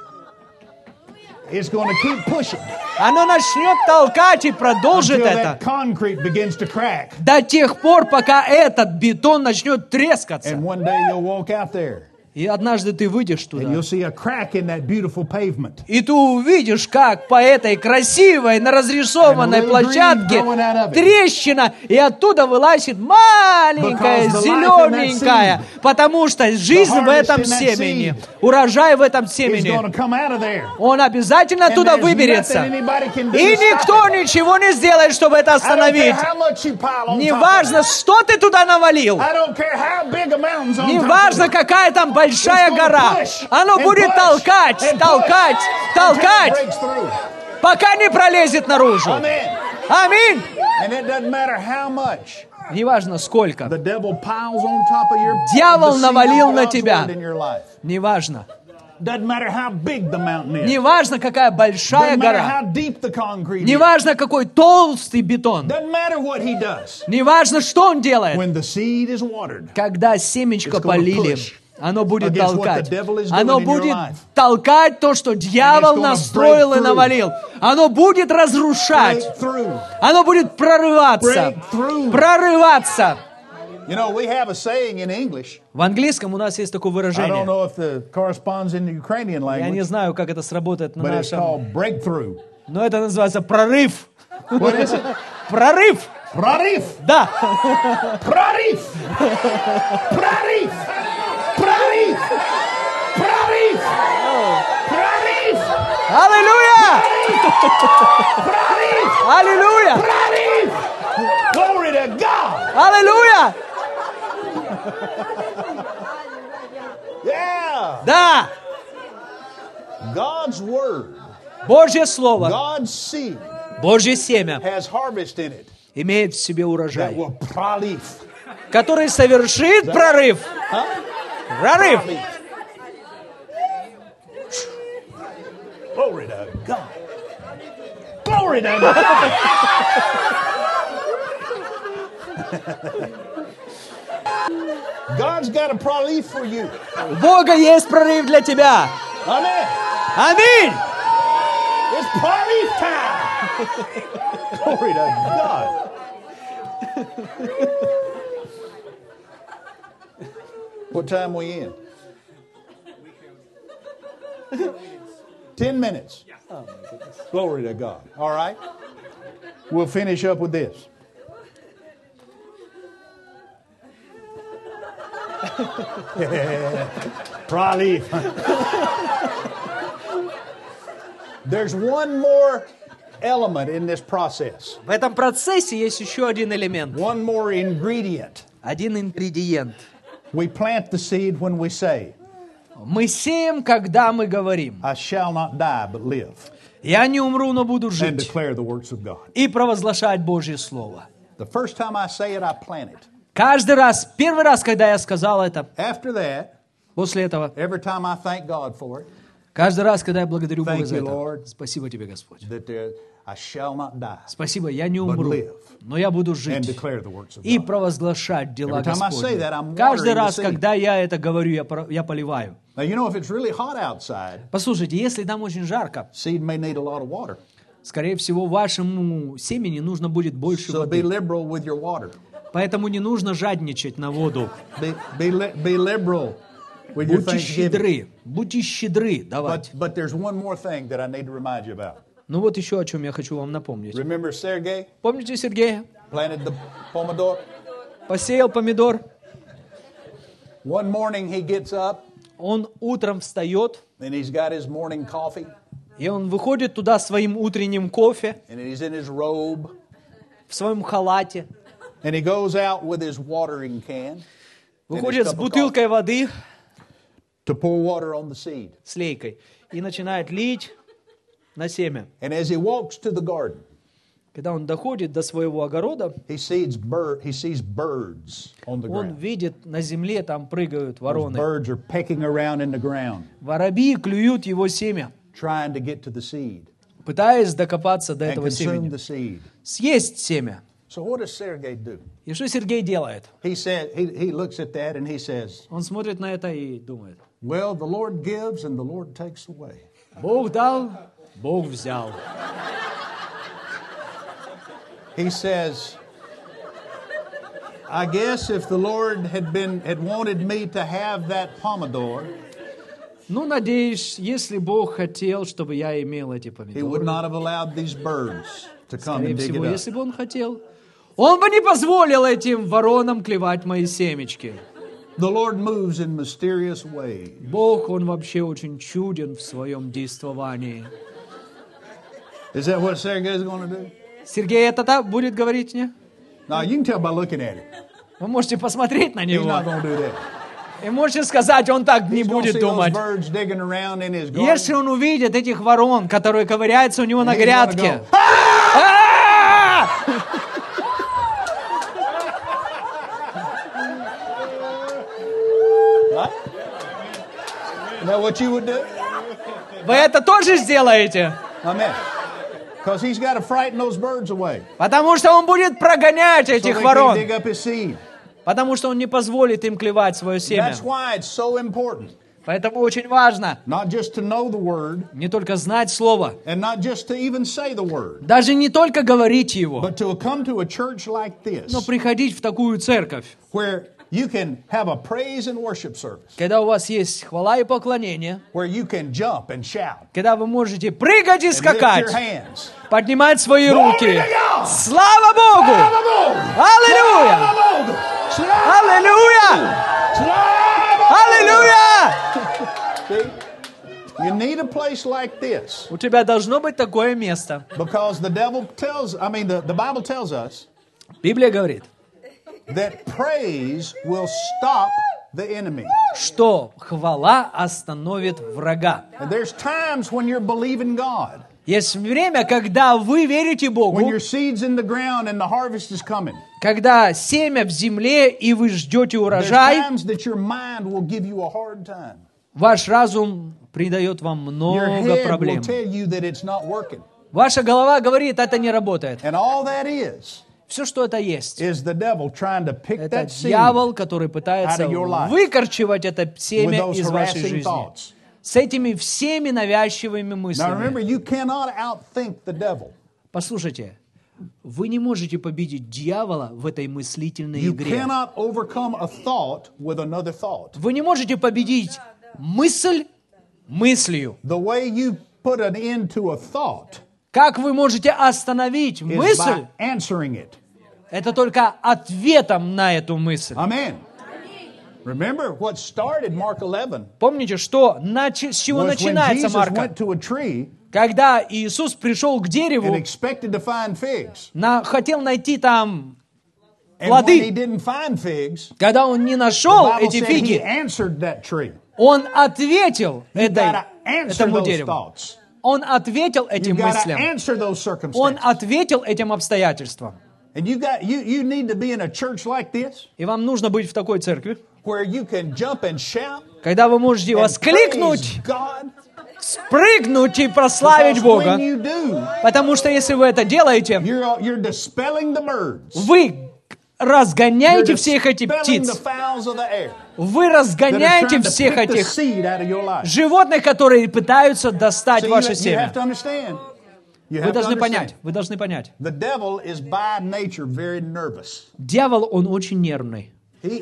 It's going to keep pushing Оно начнет толкать и продолжит until это that concrete begins to crack. до тех пор, пока этот бетон начнет трескаться. And one day you'll walk out there И однажды ты выйдешь and туда, you'll see a crack in that beautiful pavement. и ты увидишь, как по этой красивой, на разрисованной And a little площадке green growing out of it. трещина, и оттуда вылазит маленькая, Because the life in that зелененькая, seed, потому что жизнь в harvest этом in that семени, seed урожай в этом It's семени, going to come out of there. он обязательно And оттуда there's выберется. nothing anybody can do И to stop никто it. ничего не сделает, чтобы это I don't care остановить. how much you pile on top Неважно, of it. что ты туда навалил. I don't care how big a mountain's on top Неважно, of it. какая там большая It's gonna гора. push Оно and будет push толкать, and толкать, push толкать, until it breaks through. пока не пролезет наружу. Amen. Аминь. And it doesn't matter how much Неважно, сколько. the devil piles on top of your Дьявол the seed навалил of на God's тебя. word in your life. Неважно. Doesn't matter how big the mountain is. Неважно, какая большая Doesn't matter гора. how deep the concrete is. Неважно, какой толстый бетон. Doesn't matter what he does. Неважно, что он делает. When the seed is watered, Когда семечко It's gonna полили, push оно будет against what толкать. the devil is doing Оно in your будет life. толкать то, что дьявол gonna настроил break и through. навалил. Оно будет разрушать. break through. Оно будет прорываться. Break through. Прорываться. You know, we have a saying in English. В английском у нас есть такое I don't выражение. know if it corresponds in the Ukrainian Я не language, знаю, как это сработает на but it's нашем... called breakthrough. Но это называется прорыв. What is it? Прорыв. Prarif! Да. Prarif! Prarif! Prarif! Prarif! Prarif! Аллилуйя! Prarif! Аллилуйя! Prarif! Glory to God! Аллилуйя! Yeah! Yeah. Да, God's word, Божье Слово, God's seed Божье семя has harvest in it имеет в себе that урожай, will prolife. который совершит прорыв. Huh? Прорыв. Prolife. Glory to God. Glory to God. God's got a prolife for you. У Бога есть прорыв для тебя. Amen. Аминь. It's prolife time. Glory to God. What time we in? 10 minutes. Glory to God. All right. We'll finish up with this. Prolife. There's one more element in this process. В этом процессе есть еще один элемент, One more ingredient. один ингредиент. We plant the seed when we say, Мы сеем, когда мы говорим: I shall not die but live «Я не умру, но буду and жить», declare the works of God. и провозглашать Божье Слово. The first time I say it, I plant it. Каждый раз, первый раз, когда я сказал это, After that, после этого, every time I thank God for it, каждый раз, когда я благодарю Бога Thank за you, это, Lord. спасибо тебе, Господь. that I shall not die Спасибо, я не умру, live но я буду and жить declare the works of и God. провозглашать дела Every time I say Господни. that, I'm Каждый watering the раз, seed. когда я это говорю, я поливаю. Now, you know, if it's really hot outside, Послушайте, если там очень жарко, seed may need a lot of water. скорее всего, вашему семени нужно будет больше So be воды. liberal with your water. Поэтому не нужно жадничать на воду. Be liberal with your Будьте thanksgiving. будьте щедры давать. But there's one more thing that I need to remind you about. Ну вот еще о чем я хочу вам напомнить. Remember Sergey Помните Сергея? planted the pomodoro? Посеял помидор. One morning he gets up Он утром встает, and he's got his morning coffee и он выходит туда своим утренним кофе, and he's in his robe в своем халате, and he goes out with his watering can выходит с бутылкой воды, to pour water on the seed. с лейкой, и начинает лить на семя. And as he walks to the garden, Когда он доходит до своего огорода, he sees birds on the он ground. видит, на земле там прыгают Those вороны. birds are pecking around in the ground, Воробьи клюют его семя, trying to get to the seed пытаясь докопаться до and этого consume семени. the seed. Съесть семя. So what does Sergey do? И что Сергей делает? He said he looks at that and he says, Он смотрит на это и думает: "Well, the Lord gives and the Lord takes away." Бог дал, Бог взял. He says, "I guess if the Lord had wanted me to have that pomodoro, Ну, надеюсь, если Бог хотел, чтобы я имел эти He would помидоры, not have allowed these birds to come скорее and dig всего, it если up." бы Он хотел, Он бы не позволил этим воронам клевать мои семечки. The Lord moves in mysterious ways. Бог, Он вообще очень чуден в своем действовании. Is that what Sergey is going to do? Сергей это так будет говорить мне? No, you can tell by looking at him. Вы можете посмотреть на He's него. not going to do that. И можете сказать, он так не He's going to будет see those думать. birds digging around in his garden. Если он увидит этих ворон, которые ковыряются у него на He's gonna грядке. go, А! Right? Is that what you would do? Вы это тоже сделаете? Amen. Because he's got to frighten those birds away. Потому что он будет прогонять So they этих can ворон. dig up his seed. Потому что он не позволит им клевать свое семя. That's why it's so important Поэтому очень важно not just to know the word не только знать слово, and not just to even say the word, даже не только говорить его, but to come to a church like this но приходить в такую церковь, where you can have a praise and worship service, когда у вас есть хвала и поклонение, where you can jump and shout когда вы можете прыгать и and lift скакать, your hands. поднимать свои Glory руки. to God! Слава Богу! Аллилуйя! Аллилуйя! Аллилуйя! See? You need a place like this У тебя должно быть такое место. because the Bible tells us Библия говорит, that praise will stop the enemy. что хвала остановит врага. And there's times when you're believing God, Есть время, когда вы верите when Богу, your seed's in the ground and the harvest is coming. когда семя в земле, и вы ждете There's урожай, times that your mind will give you a hard time. ваш разум придает вам Your много head will проблем. tell you that it's not working. Ваша голова говорит, это не работает. And all that Все, что это есть, is the devil trying to pick это that seed дьявол, который пытается out of your life выкорчевать это with семя those из вашей harassing жизни. thoughts. С этими всеми навязчивыми Now мыслями. remember, you cannot outthink the devil. Послушайте, вы не можете победить дьявола в этой мыслительной You игре. cannot overcome a thought with another thought. Вы не можете победить мысль мыслью. The way you put an end to a thought Как вы можете остановить is мысль? by answering it. Это только ответом на эту мысль. Amen. Remember what started Mark 11 Помните, что с чего was when начинается Jesus Марка? went to a tree Когда Иисус пришел к and дереву, expected to find figs. хотел найти там And when he плоды. didn't find figs, Когда он не the нашел Bible эти said he фиги, answered that tree. он ответил You gotta answer этому those дереву. thoughts. Он ответил You этим gotta мыслям. answer those Он circumstances. ответил этим обстоятельствам. And you need to be in a church like this И вам нужно быть в такой церкви, where you can jump and shout когда вы можете and воскликнуть, praise God. спрыгнуть и прославить Because Бога. when you do, Потому что если вы это делаете, you're dispelling the birds. вы You're разгоняете всех этих dispelling the птиц. fowls of the air Вы that are разгоняете trying to всех pick the этих seed out of your life. животных, которые пытаются достать So ваше you семя. have to understand. You Вы have to должны understand. понять, вы должны понять. The devil is by nature very nervous. Дьявол, он очень нервный. He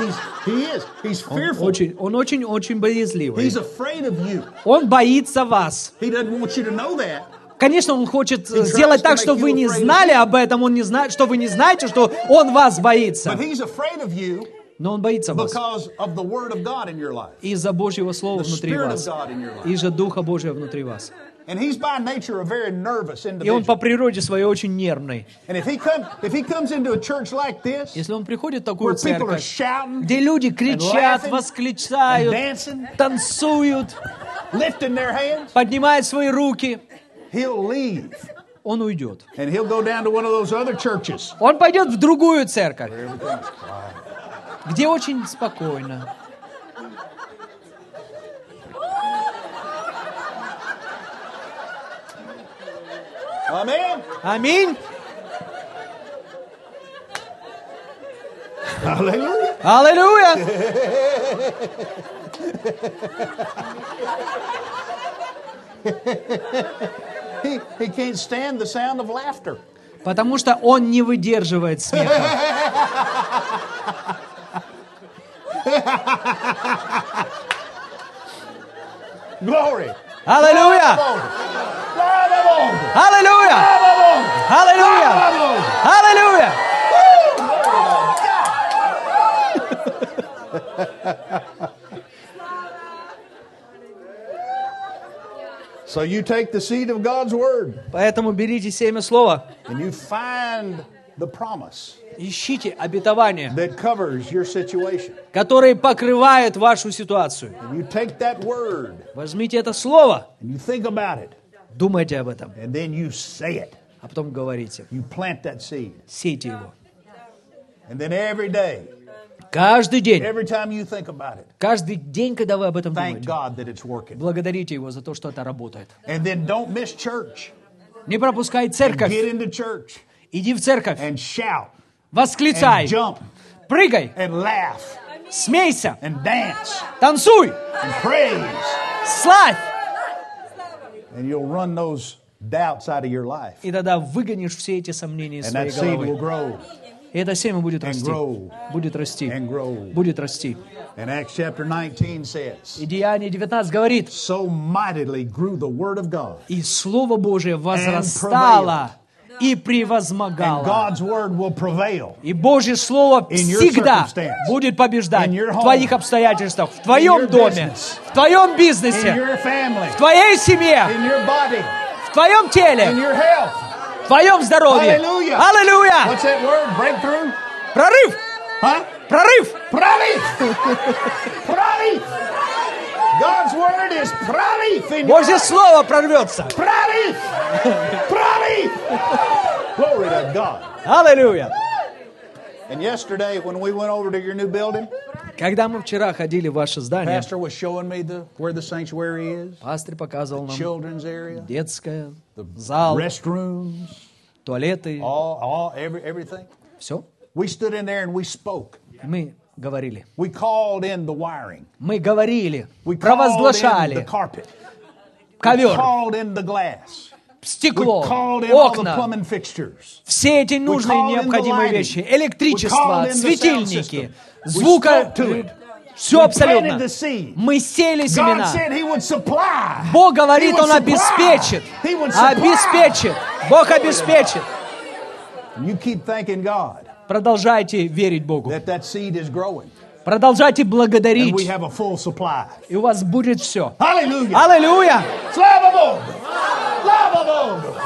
is. He's fearful. Он очень боязливый. He's afraid of you. Он боится вас. He doesn't want you to know that. Конечно, он хочет сделать так, чтобы вы не знали об этом, он не знает, что вы не знаете, что он вас боится. But he's afraid of you Но он боится вас because of the word of God in your life. из-за Божьего Слова The внутри Spirit of вас, God in your life. из-за Духа Божьего внутри вас. And he's by nature a very nervous И он по individual. природе своей очень нервный. And if he comes into a church like this, Если он приходит в такую where people are церковь, shouting, где люди кричат, laughing, восклицают, dancing, танцуют, lifting their hands, поднимают свои руки, he'll leave. он уйдет. And he'll go down to one of those other churches. Он пойдет в другую церковь, где очень спокойно. Amen. Аминь. Hallelujah. Аллилуйя. He can't stand the sound of laughter. Потому что он не выдерживает смеха. Glory. Аллилуйя. Аллилуйя. Аллилуйя. Аллилуйя. So you take the seed of God's word Поэтому берите семя слова, and you find the promise ищите обетование, that covers your situation. которое покрывает вашу ситуацию. And you take that word Возьмите это слово, and you think about it думайте об этом, and then you say it. а потом говорите, You plant that seed. сейте его. And then every day, Каждый день, every time you think about it, каждый день, когда вы об этом thank думаете, God that it's working. благодарите его за то, что это работает. And then don't miss church. Не пропускай Get церковь, into church иди в церковь, and shout восклицай, and jump прыгай, and laugh смейся, and dance танцуй, and praise. славь. And you'll run those doubts out of your life. И тогда выгонишь все эти сомнения из And своей that seed will головы. grow И это семя будет and расти, grow будет расти, and grow. будет расти. And Acts chapter 19 says, И Деяние 19 говорит, so mightily grew the word of God. и Слово Божие возрастало и And превозмогало. God's word will prevail И Божье Слово In your всегда circumstance, будет побеждать in your в home, твоих обстоятельствах, в your твоем доме, business, в твоем in бизнесе, your family, в твоей семье, in your body, в твоем in теле, your health. в твоем здоровье. Hallelujah. Аллилуйя! What's that word? Breakthrough? Прорыв! Huh? Прорыв! Прорыв! Прорыв! God's word is прорыв in your Божье life. Слово прорвется. Прорыв! Прорыв! Glory to God. Аллилуйя! And yesterday when we went over to your new building, Когда мы вчера ходили в ваше здание, Pastor was showing me where the sanctuary is, пастырь показывал нам children's area, детское, зал, restrooms, туалеты, everything. все. We stood in there and we spoke. Мы говорили. We called in the wiring. Мы говорили, We called in the провозглашали carpet. We ковер, called in the glass. We стекло, called in all the окна, plumbing fixtures. все эти нужные called in the необходимые lighting. вещи, We электричество, called in the sound светильники, system. We звука, spoke to it. все We абсолютно. planted the seed. Мы сеяли God семена. said He would supply. Бог говорит, He would Он обеспечит. supply. He would supply. Обеспечит. Бог обеспечит. And you keep thanking God Продолжайте верить Богу. that seed is growing. Продолжайте And we благодарить. have a full supply. И у вас будет все. Hallelujah. Аллилуйя! Слава Богу! Слава Богу!